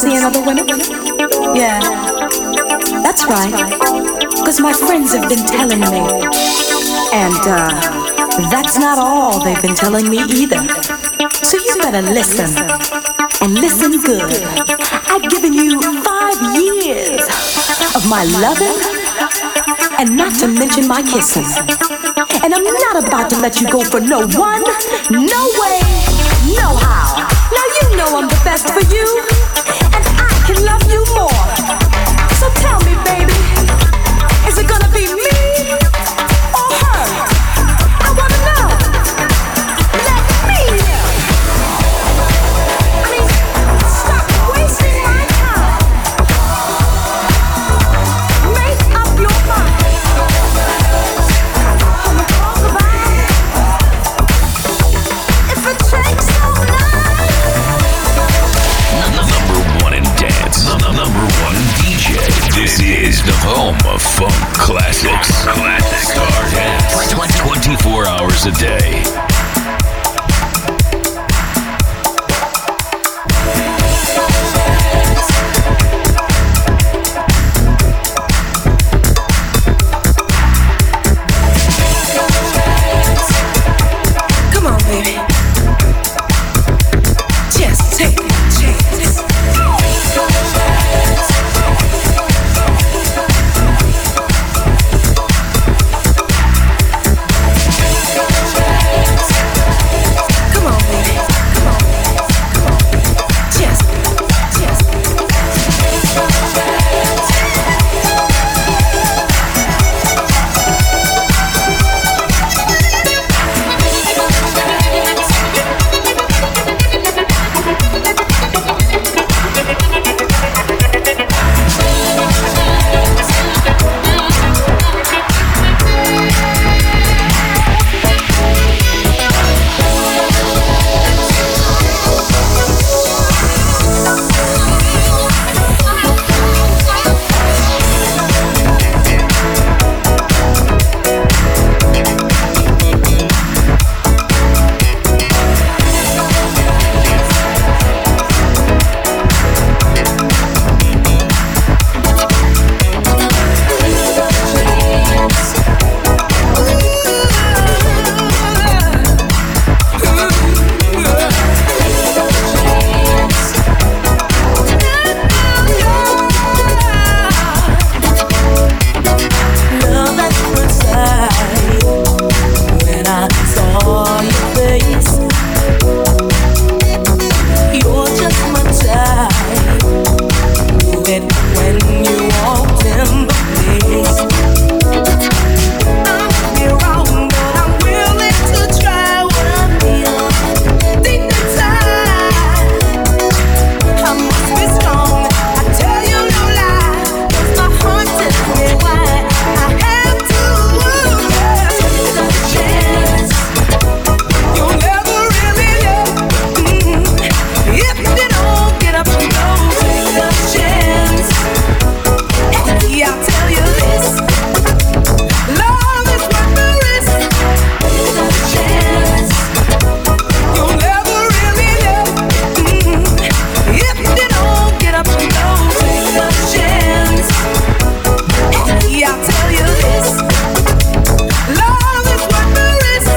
seeing other women? Yeah, that's right. Because my friends have been telling me. And uh, that's not all they've been telling me either. So you better listen. And listen good. I've given you five years of my loving and not to mention my kissing. And I'm not about to let you go for no one, no way, no how. Now you know I'm the best for you, and I can love you more. So tell me, baby, is it gonna be me or her? I wanna know. Let me know. I mean, stop wasting my time. Make up your mind. Wanna talk about it? If it takes all night. Number one in dance, number one in D J. This is the home of funk classics. Classic Star Dance. twenty-four hours a day. Come on, baby. Just take a chance. Come on, baby. Come on. Just, just. Love at first sight. When I saw your face, you're just my type. Knew it when you walked in the place. I might be wrong, but I'm willing to try what I feel. Deep inside, I must be strong. I tell you no lie, 'cause my heart tells me why I have to take a chance. You'll never really know mm, if you don't get up and go. Take a chance. Yeah, I'll tell you this. Love is worth the risk. Take a chance. You'll never really know mm, if you don't get up and go. Take a chance. Yeah, I'll tell you this. Love is worth the risk.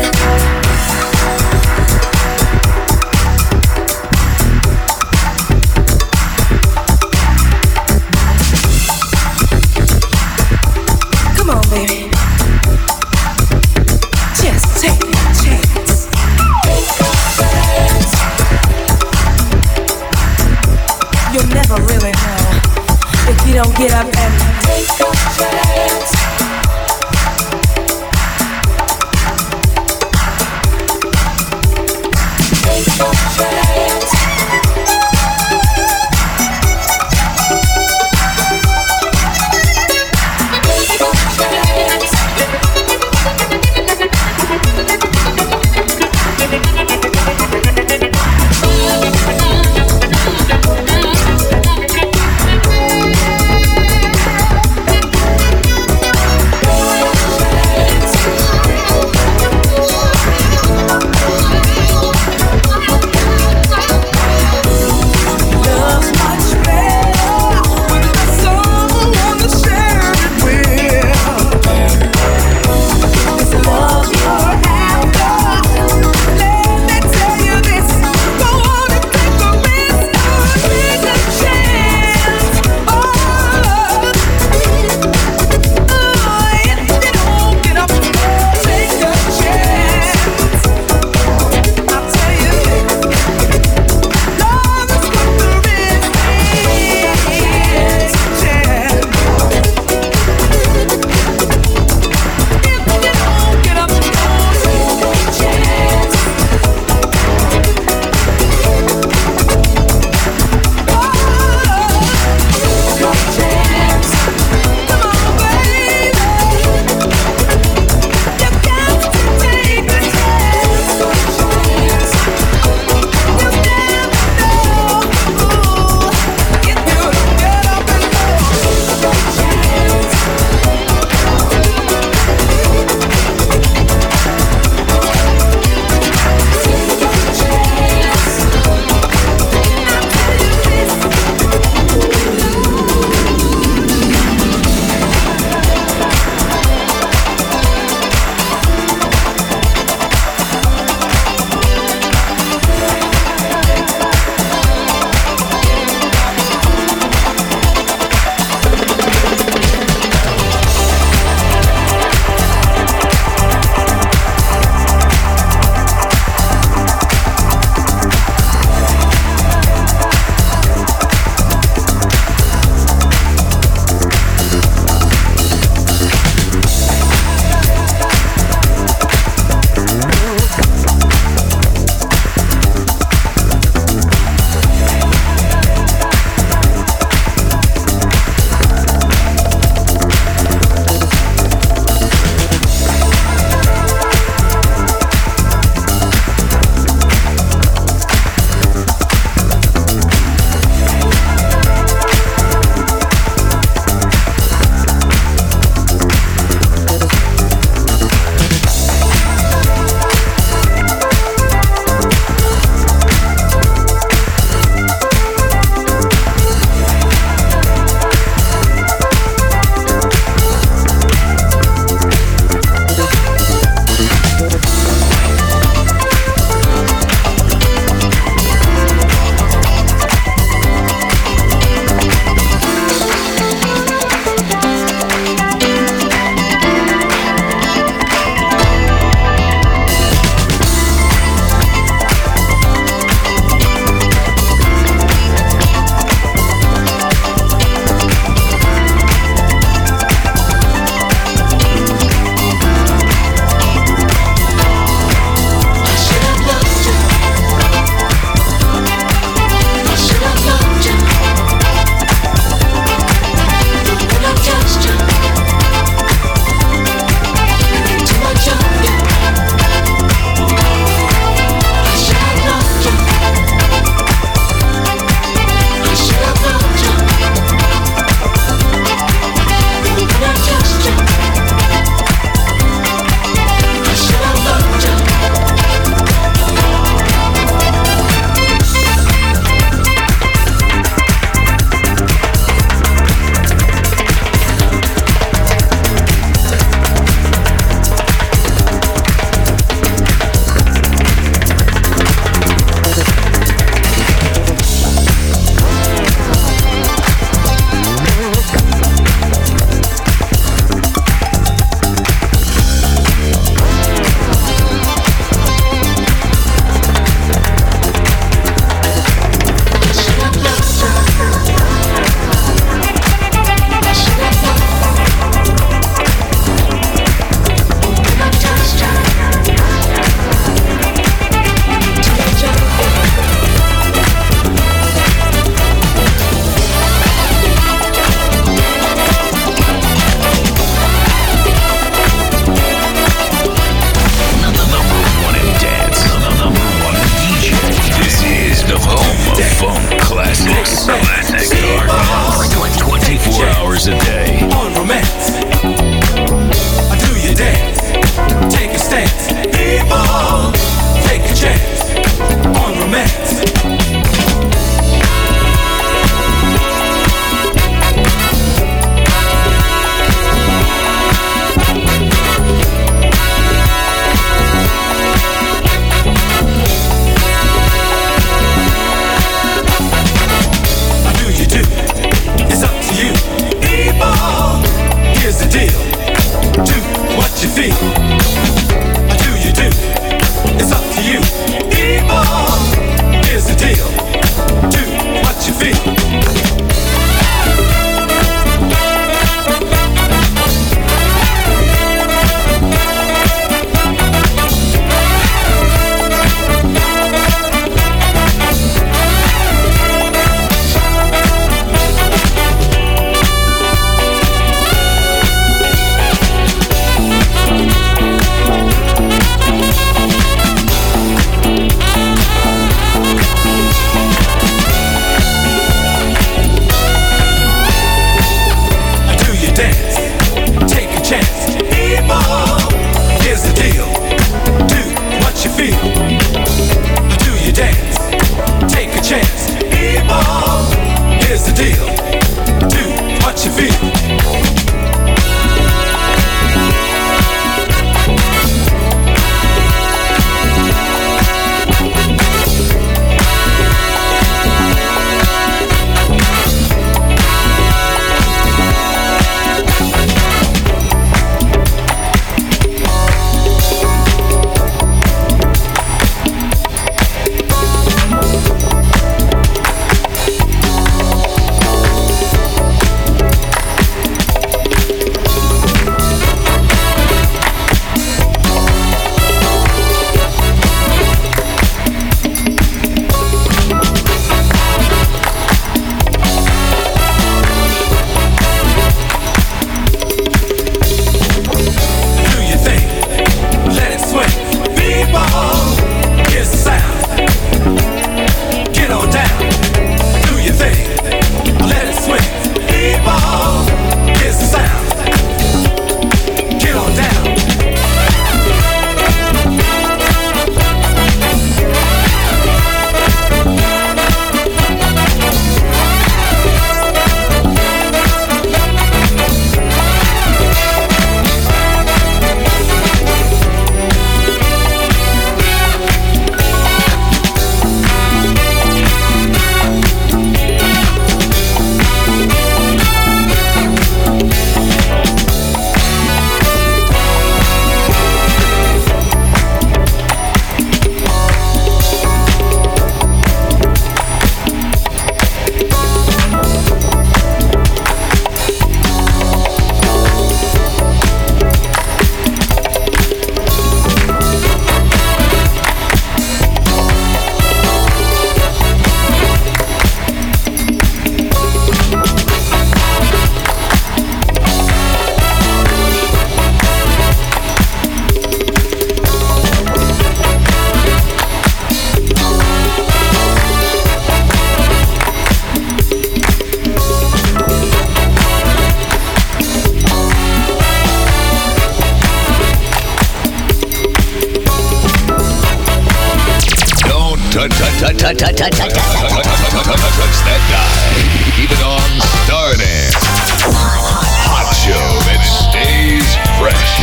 touch, touch, touch, touch, touch, touch that guy. Keep it on Stardance. Hot show that stays fresh.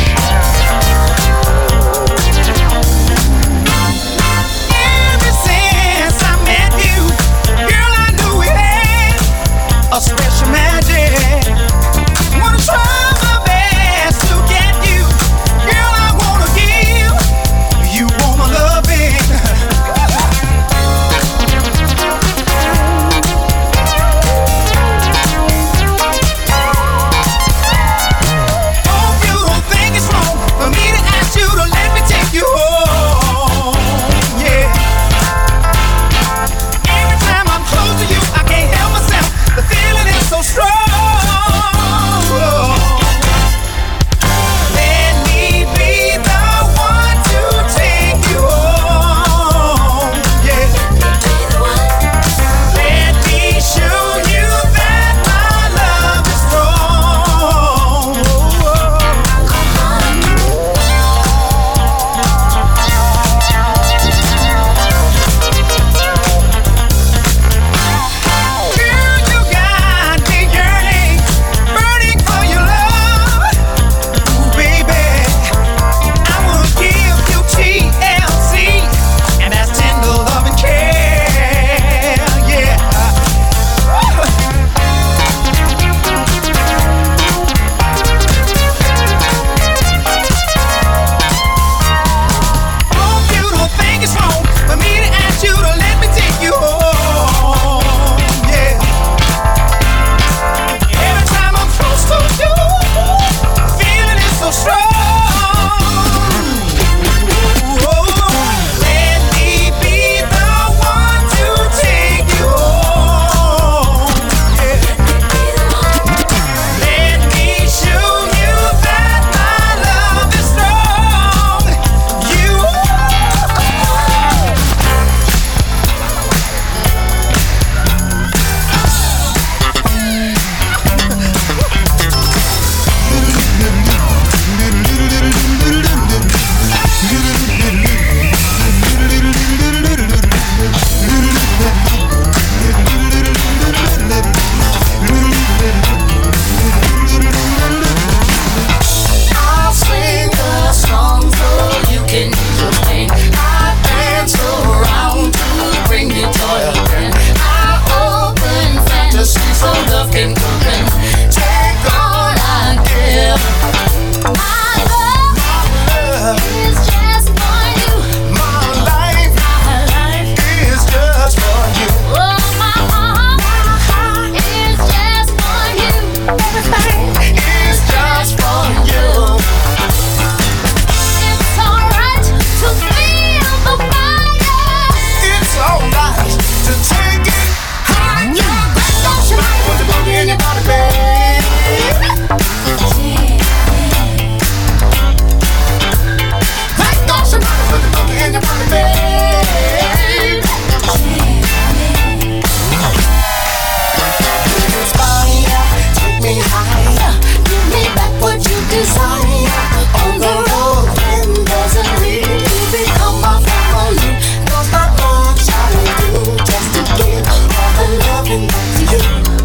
Ever since I met you, girl, I knew we had a special magic. Wanna try my best to get you, girl. I wanna give you all my loving. Hope you don't think it's wrong for me to ask you to let me take you home. Yeah. Every time I'm close to you, I can't help myself. The feeling is so strong. Let me be the one to take you home. Yeah. Let me show you that my love is strong. Girl, you got me yearning, burning for your love. Ooh, baby, I wanna give you T L C, and that's tender love and care. Yeah. Hope you don't think it's wrong for me to ask you to let me take you home. Yeah. Every time I'm close to you, feeling is so strong. Let me be the one to take you home. Yeah. Let me show you that my love is strong. You. I'll sing a song so you can complain. I dance around to bring you joy again. I open fantasy so love can come in. Take all I give. My love is just for you. My life, my life is just for you. Oh, my heart is just for you. Everything is just for you. It's alright to feel the fire. It's alright to take it higher. Don't you mind put the boogie in your body, babe? Like don't you mind put the boogie in your body, babe? Inspire, take me higher, give me back what you desire. On the road when there's a need to become my family. Cause the urge I do just to give all the loving back to you.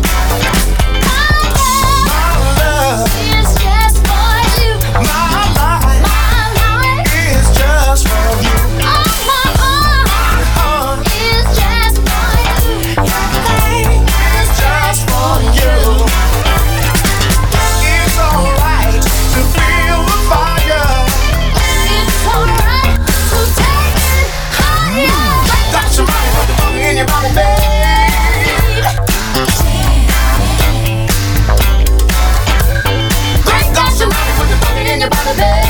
My love is just for you. My life, my life is just for you. Oh, my heart is just for you. Everything is just for you. It's alright to feel the fire. It's alright to take it higher. Got your money, put the boogie in your body, babe. Great, got your money, put the boogie in your body, babe.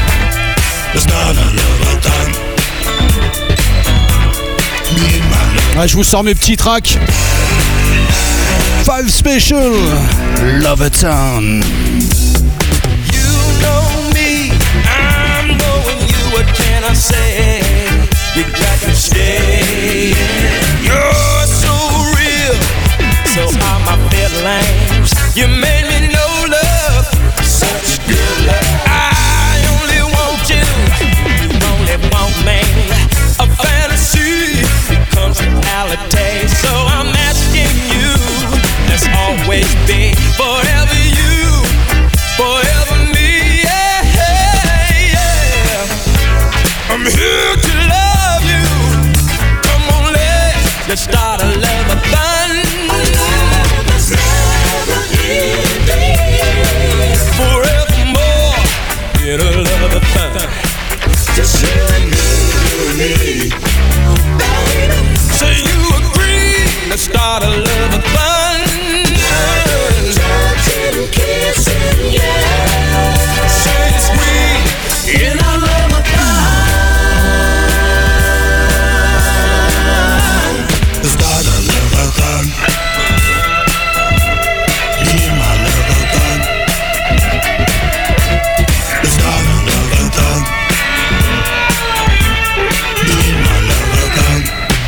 It's not a little time. Me and my little Ouais, je vous sors mes petits tracks. Five Special, Love Town. You know me, I'm knowing you. What can I say? You got to stay. You're so real, so are my feelings. You made me know love, such good love. I only want you, you only want me. A fantasy becomes reality, so I'm asking you. Let's always be forever you, forever me. Yeah, yeah. I'm here to love you. Come on, let's let's start a love fun. Forevermore in a love fun. Just you and me, you and me, baby. Say you agree. Let's start a love fun. Touching, kissing, yeah. Say it's sweet in a love fun. Start a love fun. Be my love fun. Start a love fun. Be my love fun.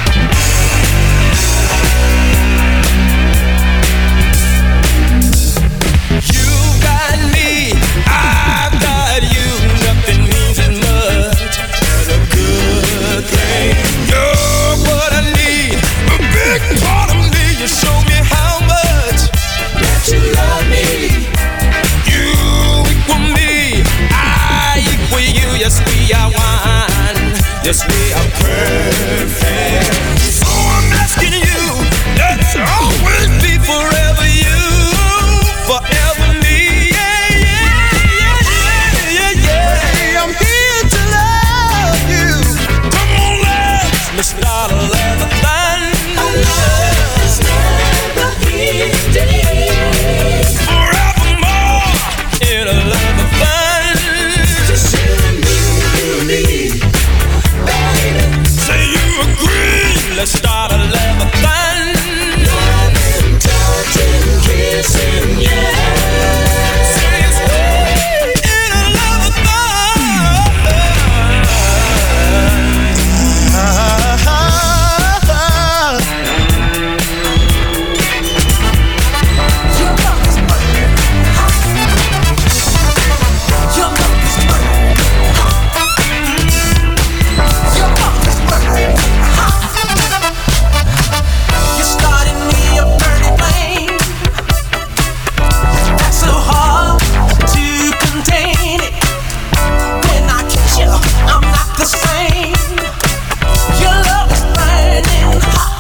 You got me, I've got you. Nothing means as much as a good thing. You're what I need, a big part of me. You show me how much that you love me. You equal me, I equal you. Yes, we are one. Yes, we are perfect. So I'm asking you, let's always be forever you, forever me. Yeah, yeah, yeah, yeah, yeah. I'm here to love you. Come on, let's let's start a love fun. Love's never ending. Forevermore in a love fun. Just you and me, you and me, baby. Say you agree. Let's start a love fun. Loving, touching, kissing, yeah. Say it's sweet in a love fun. Your love is burning hot. Your love is burning hot. Your love is burning hot. You started me a burning flame. That's so hard to contain it. When I kiss you, I'm not the same. Your love is burning hot.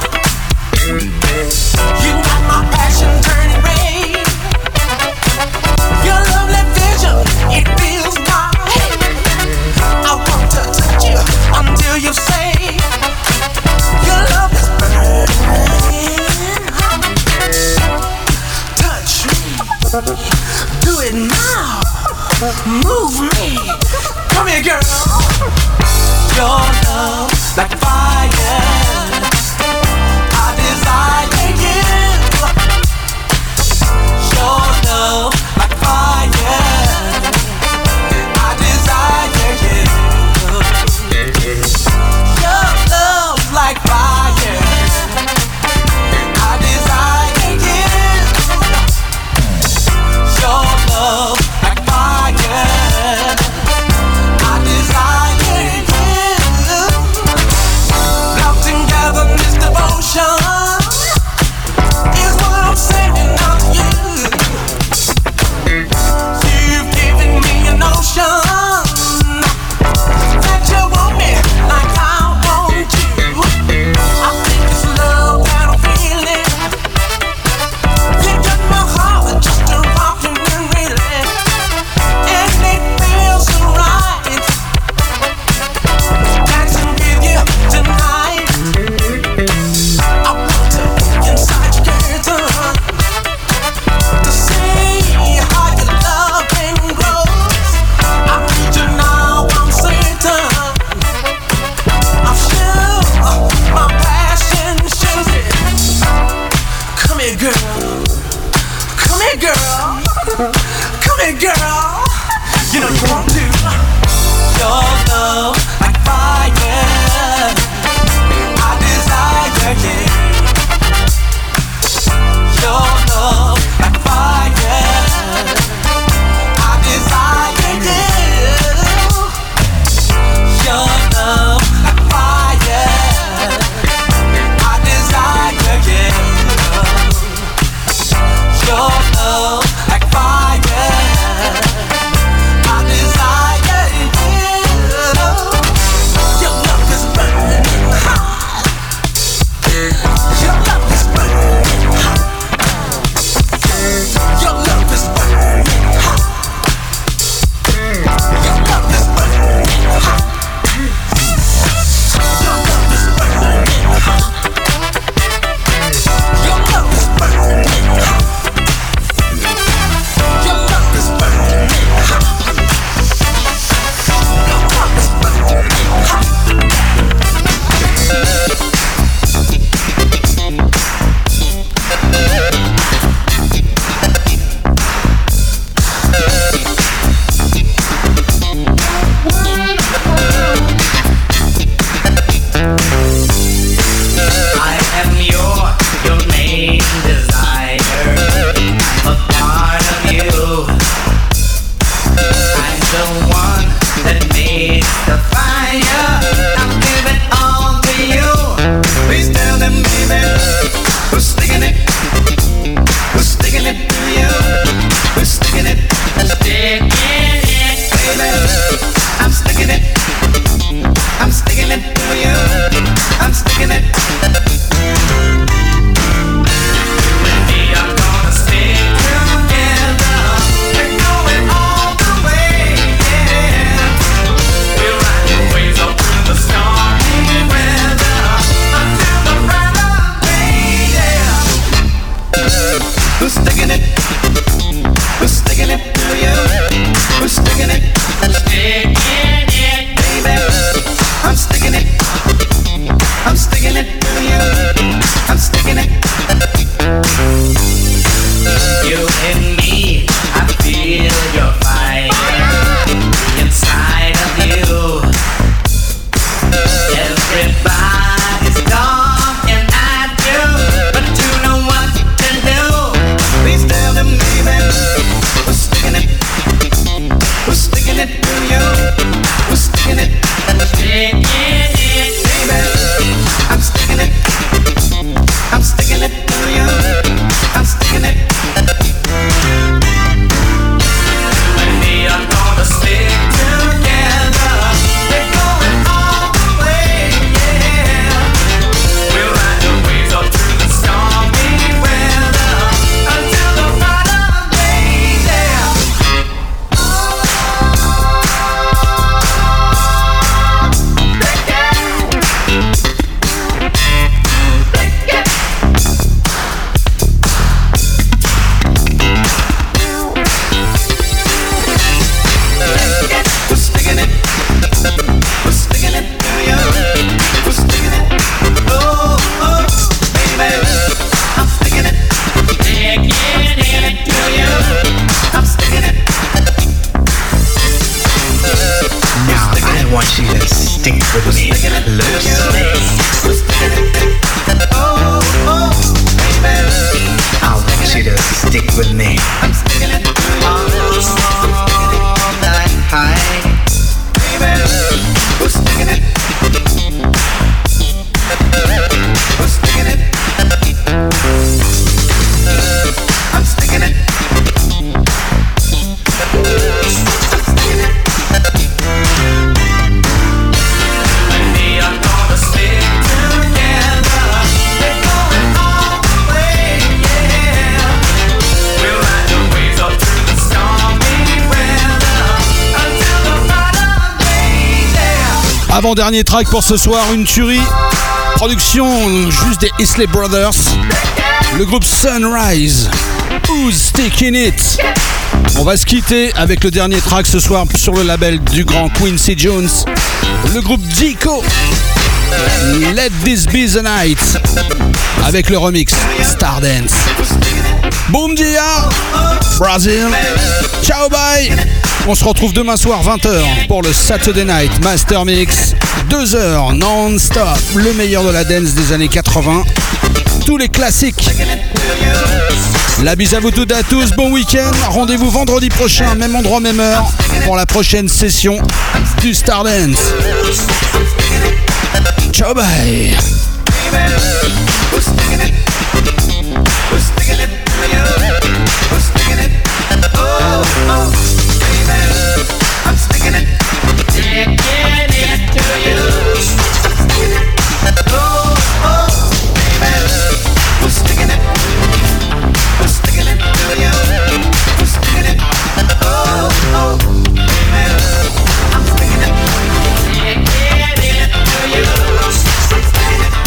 You got my passion turning red. Your lovely vision, it fills my head. I want to touch you until you say your love is burning hot. Touch me, do it now. Move me, come here, girl. Your love like fire. I desire you. Your love like fire. I desire you. Your love like fire. I desire you. Your love like fire. I desire you. Love to the fire. I'm giving all to you. Please tell them, baby, who's sticking it? Who's sticking it to you? Who's sticking it? Sticking it, baby. I'm sticking it. I'm sticking it to you. I'm sticking it. We are gonna stick together. We're going all the way, yeah. We'll ride the waves up through the stormy weather until the brighter day, yeah. Who's sticking it? Who's sticking it to you? Who's sticking it? Sticking it, baby. I'm sticking it. I'm sticking it to you. I'm sticking it. You and me, I feel your fire inside of you. Everybody's talking at you, but you know what to do. Please tell them, baby, who's sticking it? Who's sticking it to you? Who's sticking it? Sticking it, baby. I'm sticking it. I'm sticking it to you. I'm sticking it. We are gonna stick together. We're going all the way, yeah. We'll ride the waves up through the stormy weather until the brighter day, yeah. Who's sticking it? Who's sticking it to you? Who's sticking it? Oh, oh, baby, I'm sticking it. Sticking it to you. I'm sticking it. Now I want you to stick with me closely. Who's sticking it? Oh, oh, baby, I want you to stick with me I'm sticking it. all night high. Baby, who's sticking it? Who's sticking it? I'm sticking it. I'm sticking it. We are gonna stick together. We're going all the way, yeah. We'll ride the waves up through the stormy weather until the brighter day, yeah. Avant-dernier track pour ce soir, une tuerie. Production juste des Isley Brothers. Le groupe Sunrise. Who's Sticking It? On va se quitter avec le dernier track ce soir sur le label du grand Quincy Jones. Le groupe Dico. Let This Be The Night. Avec le remix Stardance. Boom dia, Brazil. Ciao bye. On se retrouve demain soir vingt heures pour le Saturday Night Master Mix. deux heures non-stop. Le meilleur de la dance des années quatre-vingts. Tous les classiques. La bise à vous toutes et à tous. Bon week-end. Rendez-vous vendredi prochain, même endroit, même heure, pour la prochaine session du Stardance. Ciao bye. Who's sticking it? Who's sticking it to you? Who's sticking it? Oh, oh, baby, I'm sticking it. Sticking it to you. I'm sticking it. Oh, oh, baby, who's sticking it? Who's sticking it to you? Who's sticking it? Oh, oh, baby, I'm sticking it. Sticking it to you. I'm sticking it.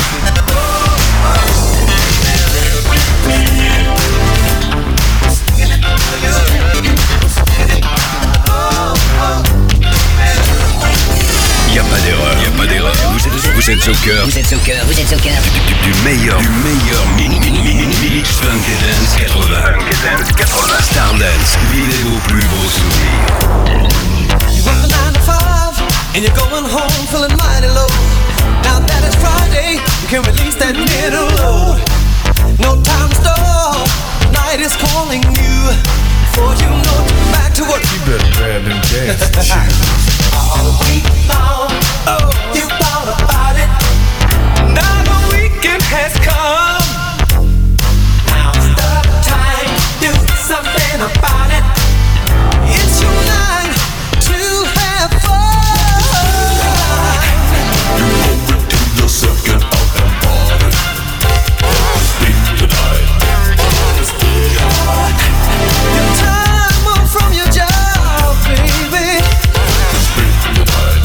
Y a pas d'erreur, y a pas d'erreur. Vous êtes, vous êtes au cœur. Vous êtes au cœur, vous êtes au cœur. Du, du meilleur, du meilleur mix, mix, mix, mix Funk et Dance quatre-vingts. Funk et Dance quatre-vingts. Stardance, vivez vos plus beaux souvenirs. You work a nine to five and you're going home feeling mighty low. Now that it's Friday, you can release that middle load. No time to stop, night is calling you. Before you know it, back to work. You better grab them dancing shoes. All week long, oh, you thought about it. Now the weekend has come. Now's the time to do something about it. It's your night to have fun. You owe it to yourself, get out and party. Speak tonight. Your time off from your job, baby. Speak tonight.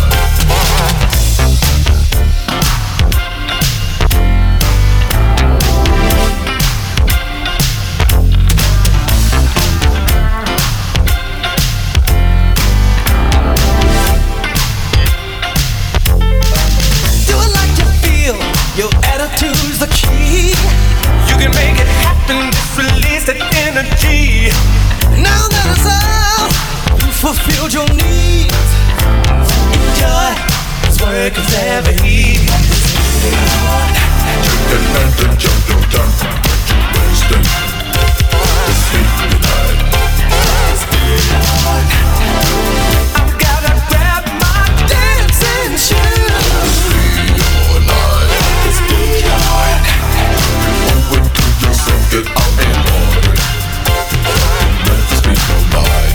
Do it like you feel. Your attitude's the key. You can make it happen. Just release that energy. Now that it's out, you fulfilled your needs. Enjoy. It's work is never easy. Take that hand and jump your tongue. Get you wasted. Speak tonight. I've gotta grab my dancing shoes. See your night. Owe it to yourself, get out and party. Let this be your night.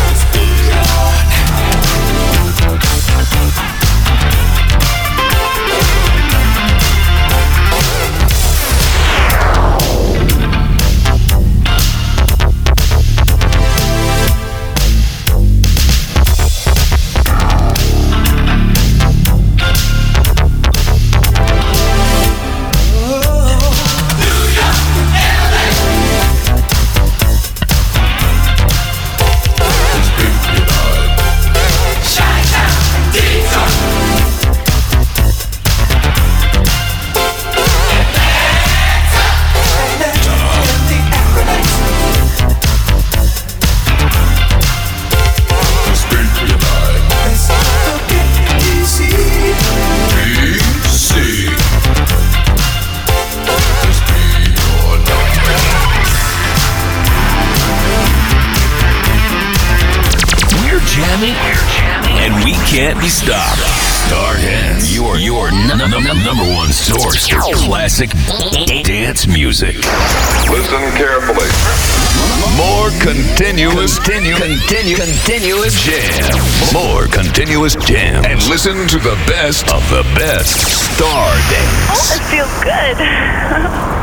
And we can't be stopped. Stardance, your your n- n- n- number one source for classic dance music. Listen carefully. More continuous, continue, continue, continuous jam. More continuous jam. And listen to the best of the best Stardance. Oh, it feels good.